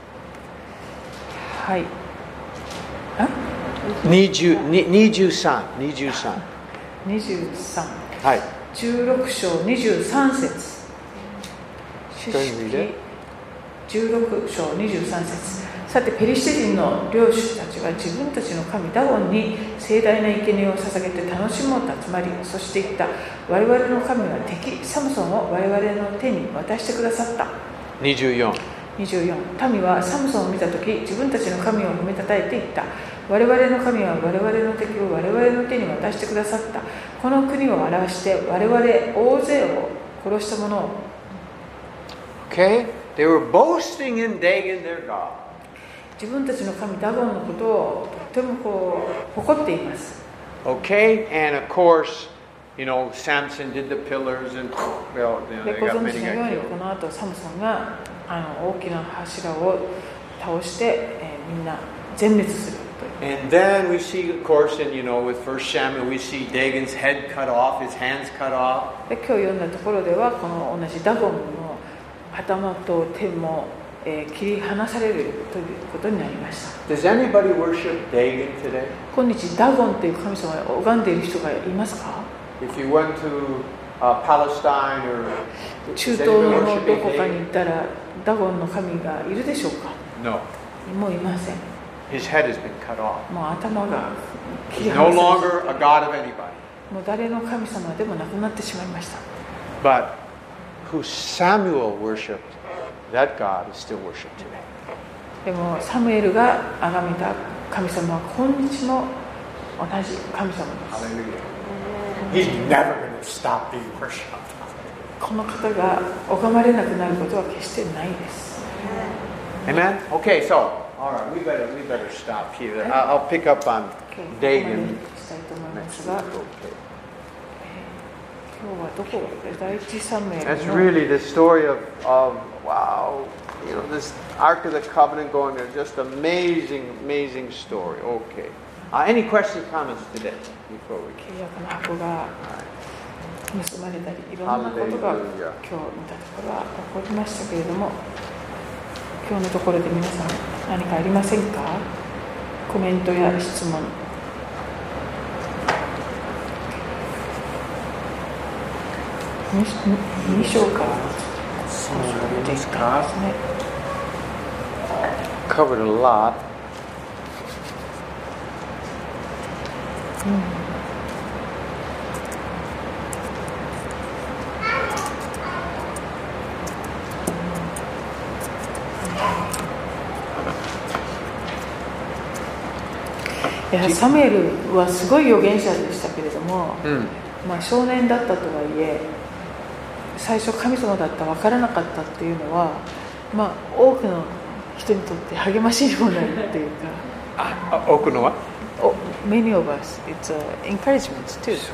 はい。あ？ にじゅう、にじゅうさん、にじゅうさん。 にじゅうさん。 はい。 じゅうろく章にじゅうさん節。四式じゅうろく章にじゅうさん節。さてペリシテ人の領主たちは自分たちの神ダゴンに盛大な生贄を捧げて楽しもうと集まり、そして言った。我々の神は敵サムソンを我々の手に渡してくださった。 にじゅうよん。 にじゅうよん。民はサムソンを見たとき、自分たちの神を褒めたたえて言った。我々の神は我々の敵を我々の手に渡してくださった。この国を表して我々大勢を殺した者を。 Okay? They were boasting in Dagon, their god. 自分たちの神ダゴンのことをとてもこう誇っています。 Okay? And of course, you know, Samson did the pillars and, well, you know, で they ご got 存 many 知のように got こ killed. の後サムソンがあの大きな柱を倒して、えー、みんな全滅するという。 And then we see, of course, and you know, with First Samuel, we see Dagon's head cut off, his hands cut off. で今日読んだところではこの同じダゴンの頭と手も、えー、切り離されるということになりました。 Does anybody worship Dagon today? 今日ダゴンという神様を拝んでいる人がいますか？ If you went to uh, Palestine or 中 is 東 anybody のど worshiping こかに Dagon? 行ったらダゴンの神がいるでしょうか？ No. もういません。 His head has been cut off. もう頭が切り He's no 離され longer a god of anybody. もう誰の神様でもなくなってしまいました。 But who Samuel worshipped, that God is still worshipped today. でもサムエルが崇めた神様は今日も同じ神様です。 Hallelujah. He's never going to stop being worshipped. この方が拝まれなくなることは決してないです。 Amen? Okay, so, all right, we better, we better stop here. I'll, I'll pick up on Dagon next week. Okay. 今日はどこ第一サムエルの That's really the story of, of, wow, you know, this Ark of the Covenant going there. Just amazing, amazing story. Okay. Uh, any questions, comments today before we 契約の箱が盗まれたりいろんなことが今日見たところは起こりましたけれども、今日のところで皆さん何かありませんか？コメントや質問。に章から出てきたんですね。 Covered a lot. うん、いやサムエルはすごい預言者でしたけれども、うん、まあ、少年だったとはいえ最初神様だった分からなかったっていうのは、まあ、多くの人にとって励ましいものっていうかあ多くのは Oh, many of us, it's uh, encouragement too. So, so,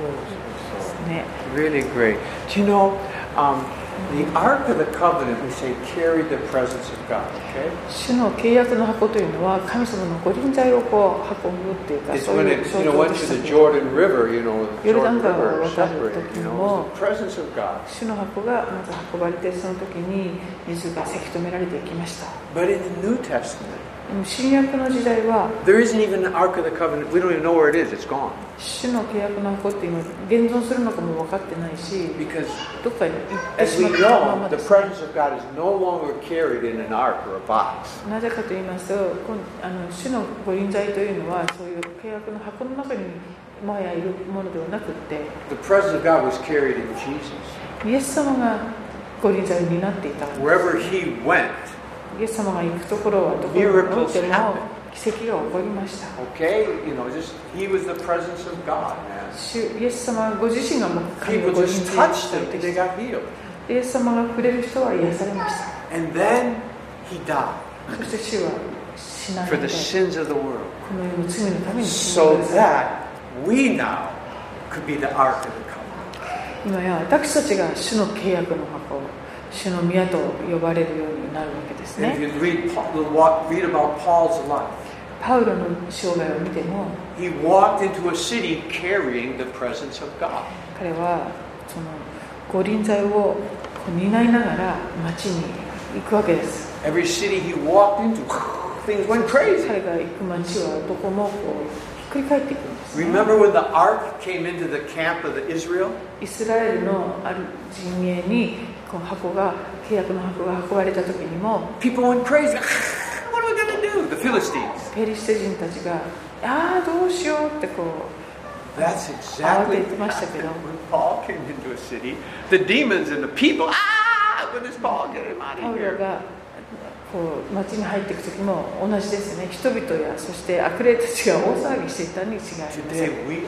so. Really great. Do you know, um, the Ark of the Covenant, we say, carried the presence of God, okay? 主の契約の箱というのは神様の御臨在をこう運ぶっていうか、 It's そういう when it, 象 you know, 徴 went で to した the けど、 Jordan River, you know, the ヨルダ Jordan ン川を River 渡る separated, 時 you に know, も it was the presence of God. 主の箱がまず運ばれて、その時に水がせき止められていきました。 But in the New Testament, でも新約の時代は there isn't even the Ark of the Covenant. We don't even know where it is. It's gone. 主の契約の箱っていうのは現存するのかも分かってないし、 Because どっかに行って as しま we ったま know, ま the です。 presence of God is no longer carried in an ark or a box. なぜかと言いますと、こんあの主の御臨在というのはそういう契約の箱の中にもはやいるものではなくって、 The presence of God was carried in Jesus. イエス様が御臨在を担っていた。 Wherever He went, イエス様が行くところはどこにおいても奇跡が起こりました。 okay, you know, just He was the presence of God, man. 主イエス様ご自身がもう神の People 御臨 just 在を touched 伝 Him え and て they きた。 got healed. イエス様が触れる人は癒されました。 And then He died そして主は死な for れ the て、 sins of the world, この世の罪のために死ん so でください。 that we now could be the ark of the covenant. 今や私たちが主の契約の箱、主の宮と呼ばれるようになるわけです And if ね。 you read, read about Paul's life, パウロの生涯を見ても、 he walked into a city carrying the presence of God. 彼はその御臨在をこう担いながら町に行くわけです。 Every city he walked into, things went crazy. 彼が行く町はどこもこうひっくり返っていくんです、ね。 Remember when the ark came into the camp of the Israel? イスラエルのある陣営にこの箱が契約の箱が運ばれた時にも、 People went crazy. What are we going to do? The Philistines. ペリシテ人たちがああどうしようってこう That's exactly what happened when Paul came into a city. The demons and the people, ah, when this Paul get him out パ of ウロ here. がこう町に入っていく時も同じですね。人々やそして悪霊たちが大騒ぎしていたに違いありません。 Today we are the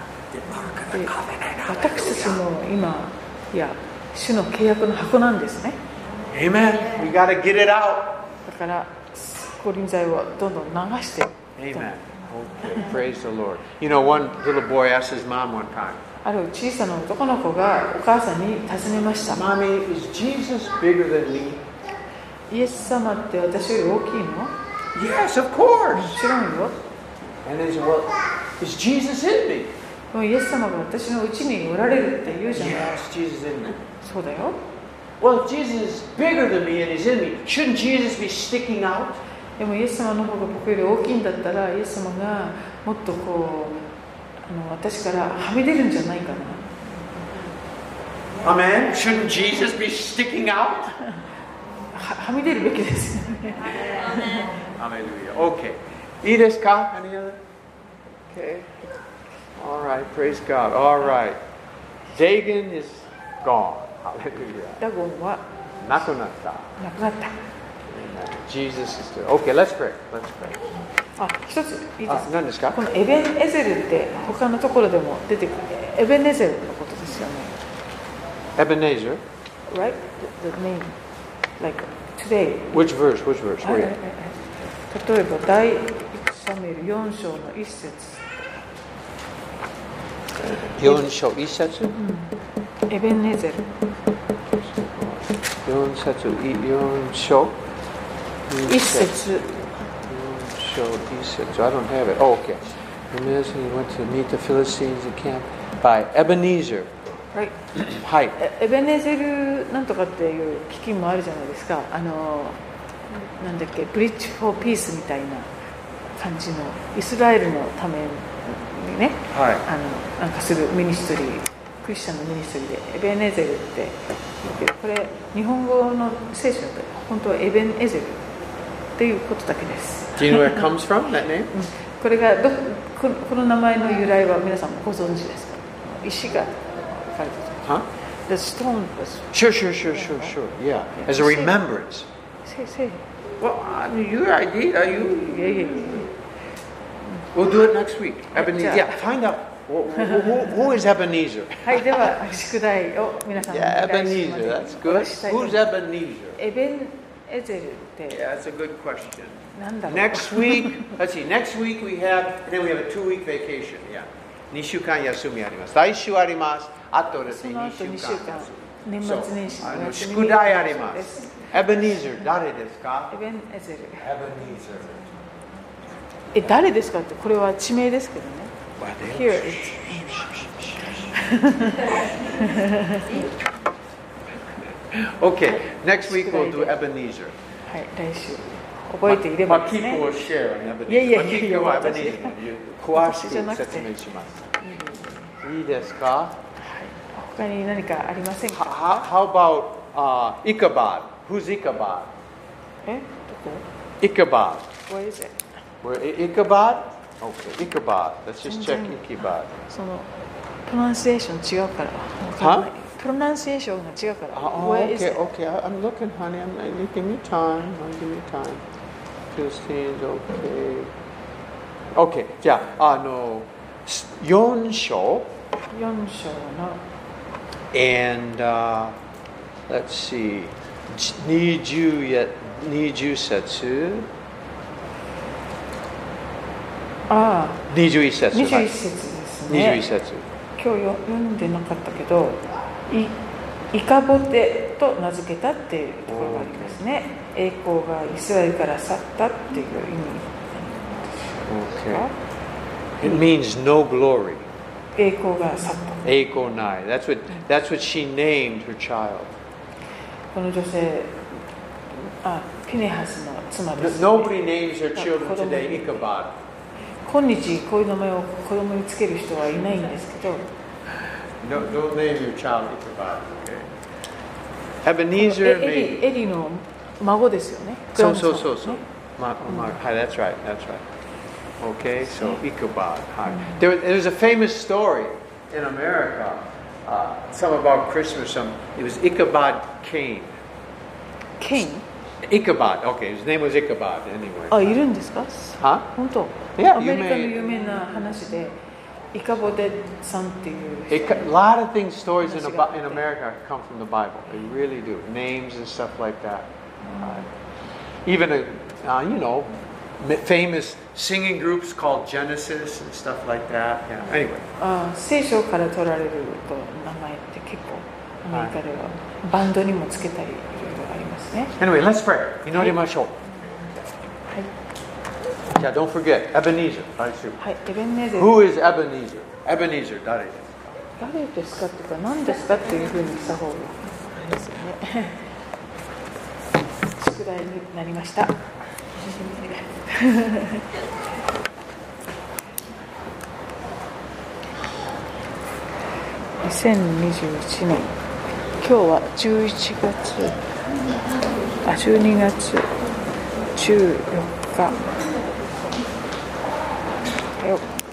ark of the で covenant. 私たちも今いや主の契約の箱なんですね。 Amen. We got to get it out. だから御臨在をどんどん流していった。 Amen. Okay, praise the Lord. You know, one little boy asked his mom one time, ある小さな男の子がお母さんに尋ねました。 Mommy, is Jesus bigger than me? イエス様って私より大きいの？ Yes, of course. もちろんよ。 And they said, well, is Jesus in me? もうイエス様が私のうちにおられるって言うじゃない。 Yes, Jesus in me. そうだよ。 Well, if Jesus is bigger than me and he's in me, shouldn't Jesus be sticking out? でもイエス様の方が僕より大きいんだったら、イエス様がもっとこうあの私からはみ出るんじゃないかな。 Amen. Shouldn't Jesus be sticking out? は, はみ出るべきですよね。 Hallelujah. Okay. いいですか? Any other? Okay. All right. Praise God. All right. Dagon is gone. Hallelujah. ダゴンはなくなった。 なくなった。 Jesus is good. Okay, let's pray. Let's pray. あ、一ついいですか？ あ、何ですか？ このエベンエゼルって他のところでも出てくるエベンエゼルのことですよね。 Ebenezer. right? The, the name. Like today. Which verse? Which verse? はい Where? はいはい例えば第一サムエルよん章の一節。 四章一節。 エベネゼル。 四節い四章。 一節。 四章一節。I don't have it. Oh, okay. Ebenezer went to meet the Philistines in camp by Ebenezer. はい。 はい。 エベネゼルなんとかっていう基金もあるじゃないですか。あのなんだっけ、ブリッジ・フォー・ピースみたいな感じのイスラエルのためにね、 はい、 あのなんかするミニストリー、クリスチャンのミニストリーでエベネゼルって言うけど、これ日本語の聖書だと本当はエベンエゼルっていうことだけです。 Do you know where it comes from, that name? これがどこのこの名前の由来は皆さんもご存知ですか？石が書かれてた。 Huh? The stone was. Sure, sure, sure, sure, sure. Yeah, as a remembrance. Say, say. Well, I mean, your idea, you. Yeah, yeah, yeah. We'll do it next week. Ebenezer. Yeah. Yeah, find out who, who, who is Ebenezer. はい、では宿題を皆さんにお Yeah, 願いします。 Ebenezer. That's good. したいと思い Who's ます Ebenezer? エベンエゼルって Yeah, that's a good question. なんだろう。 Next week, let's see. Next week we have, and then we have a two-week vacation. Yeah, 二週間休みあります。来週あります。あとですね、 その後二週に週間間休み。 年末年始のあの休み宿題ありま。 ですす。 エベニーザー誰ですか？ エベンエゼル。 エベニーザえ、誰ですかってこれは地名ですけどね。 ー。 Here it's Okay, next week we'll do Ebenezer. はい、来週覚えていればですね。 マキコをシェア、Ebenezer. いやいやいやいや、 マキコはエベニーザー詳しく私じゃなくて説明します。いいですか？ 他に何かありませんか？ How, how about uh, Ichabod? Who's Ichabod? え、どこ Ichabod. Where is it? Where Ichabod? Okay, Ichabod. Let's just check 全然 Ichabod. そのプロナンシエーション違うからわかんない。プロナンシエーションが違うから。 Oh, Where is okay, it? okay. I- I'm looking, honey. I'm like, give me time. Oh, give me time. Philistines, okay. Okay, じゃあ、あの、よん章よん章の and uh, let's see, にじゅうやにじゅう節ああ、 にじゅういっ節にじゅういっ節ですね。 にじゅういっ節今日よ読んでなかったけど、いイカボテと名付けたっていうところがありますね。栄光がイスラエルから去ったっていう意味。 Okay. It means no glory. 栄光が去った。 栄光ない。That's what, that's what she named her child. この女性、あ、ピネハスの妻です、ね。 Nobody names their children today Ichabod. 今日こういう名前を子供につける人はいないんですけど。 No, don't name your child Ichabod. Okay. Ebenezer エリ means. エリの孫ですよね。 So, so, so, so. Ma, ma, hi, that's right, that's right. Okay, so Ichabod. Hi. There, there's a famous story in America, uh, some about Christmas. Some it was Ichabod Cain. ケイン Ichabod. Okay, his name was Ichabod anyway. あ、いるんですか？ Huh? 本当。 Yeah, アメリカの you may- 有名な話で、イカボテさんっていう人 It, a lot of things, stories in, Ab- in America come from the Bible. They really do. Names and stuff like that. Uh, even, a, uh, you know, m- famous singing groups called Genesis and stuff like that. Yeah. Anyway. あ、聖書から取られると名前って結構アメリカではバンドにもつけたりいろいろありますね。 Anyway, let's pray. 祈りましょう。 はい。 Yeah, don't forget, Ebenezer. 来週。 はい、エベンネゼル Who is Ebenezer? Ebenezer, 誰ですか？ 誰ですかっていうか何ですかっていうふうにした方がいいですよね。宿題になりました。にせんにじゅういちねん、今日はじゅういちがつ、あ、じゅうにがつじゅうよっか。おはよう。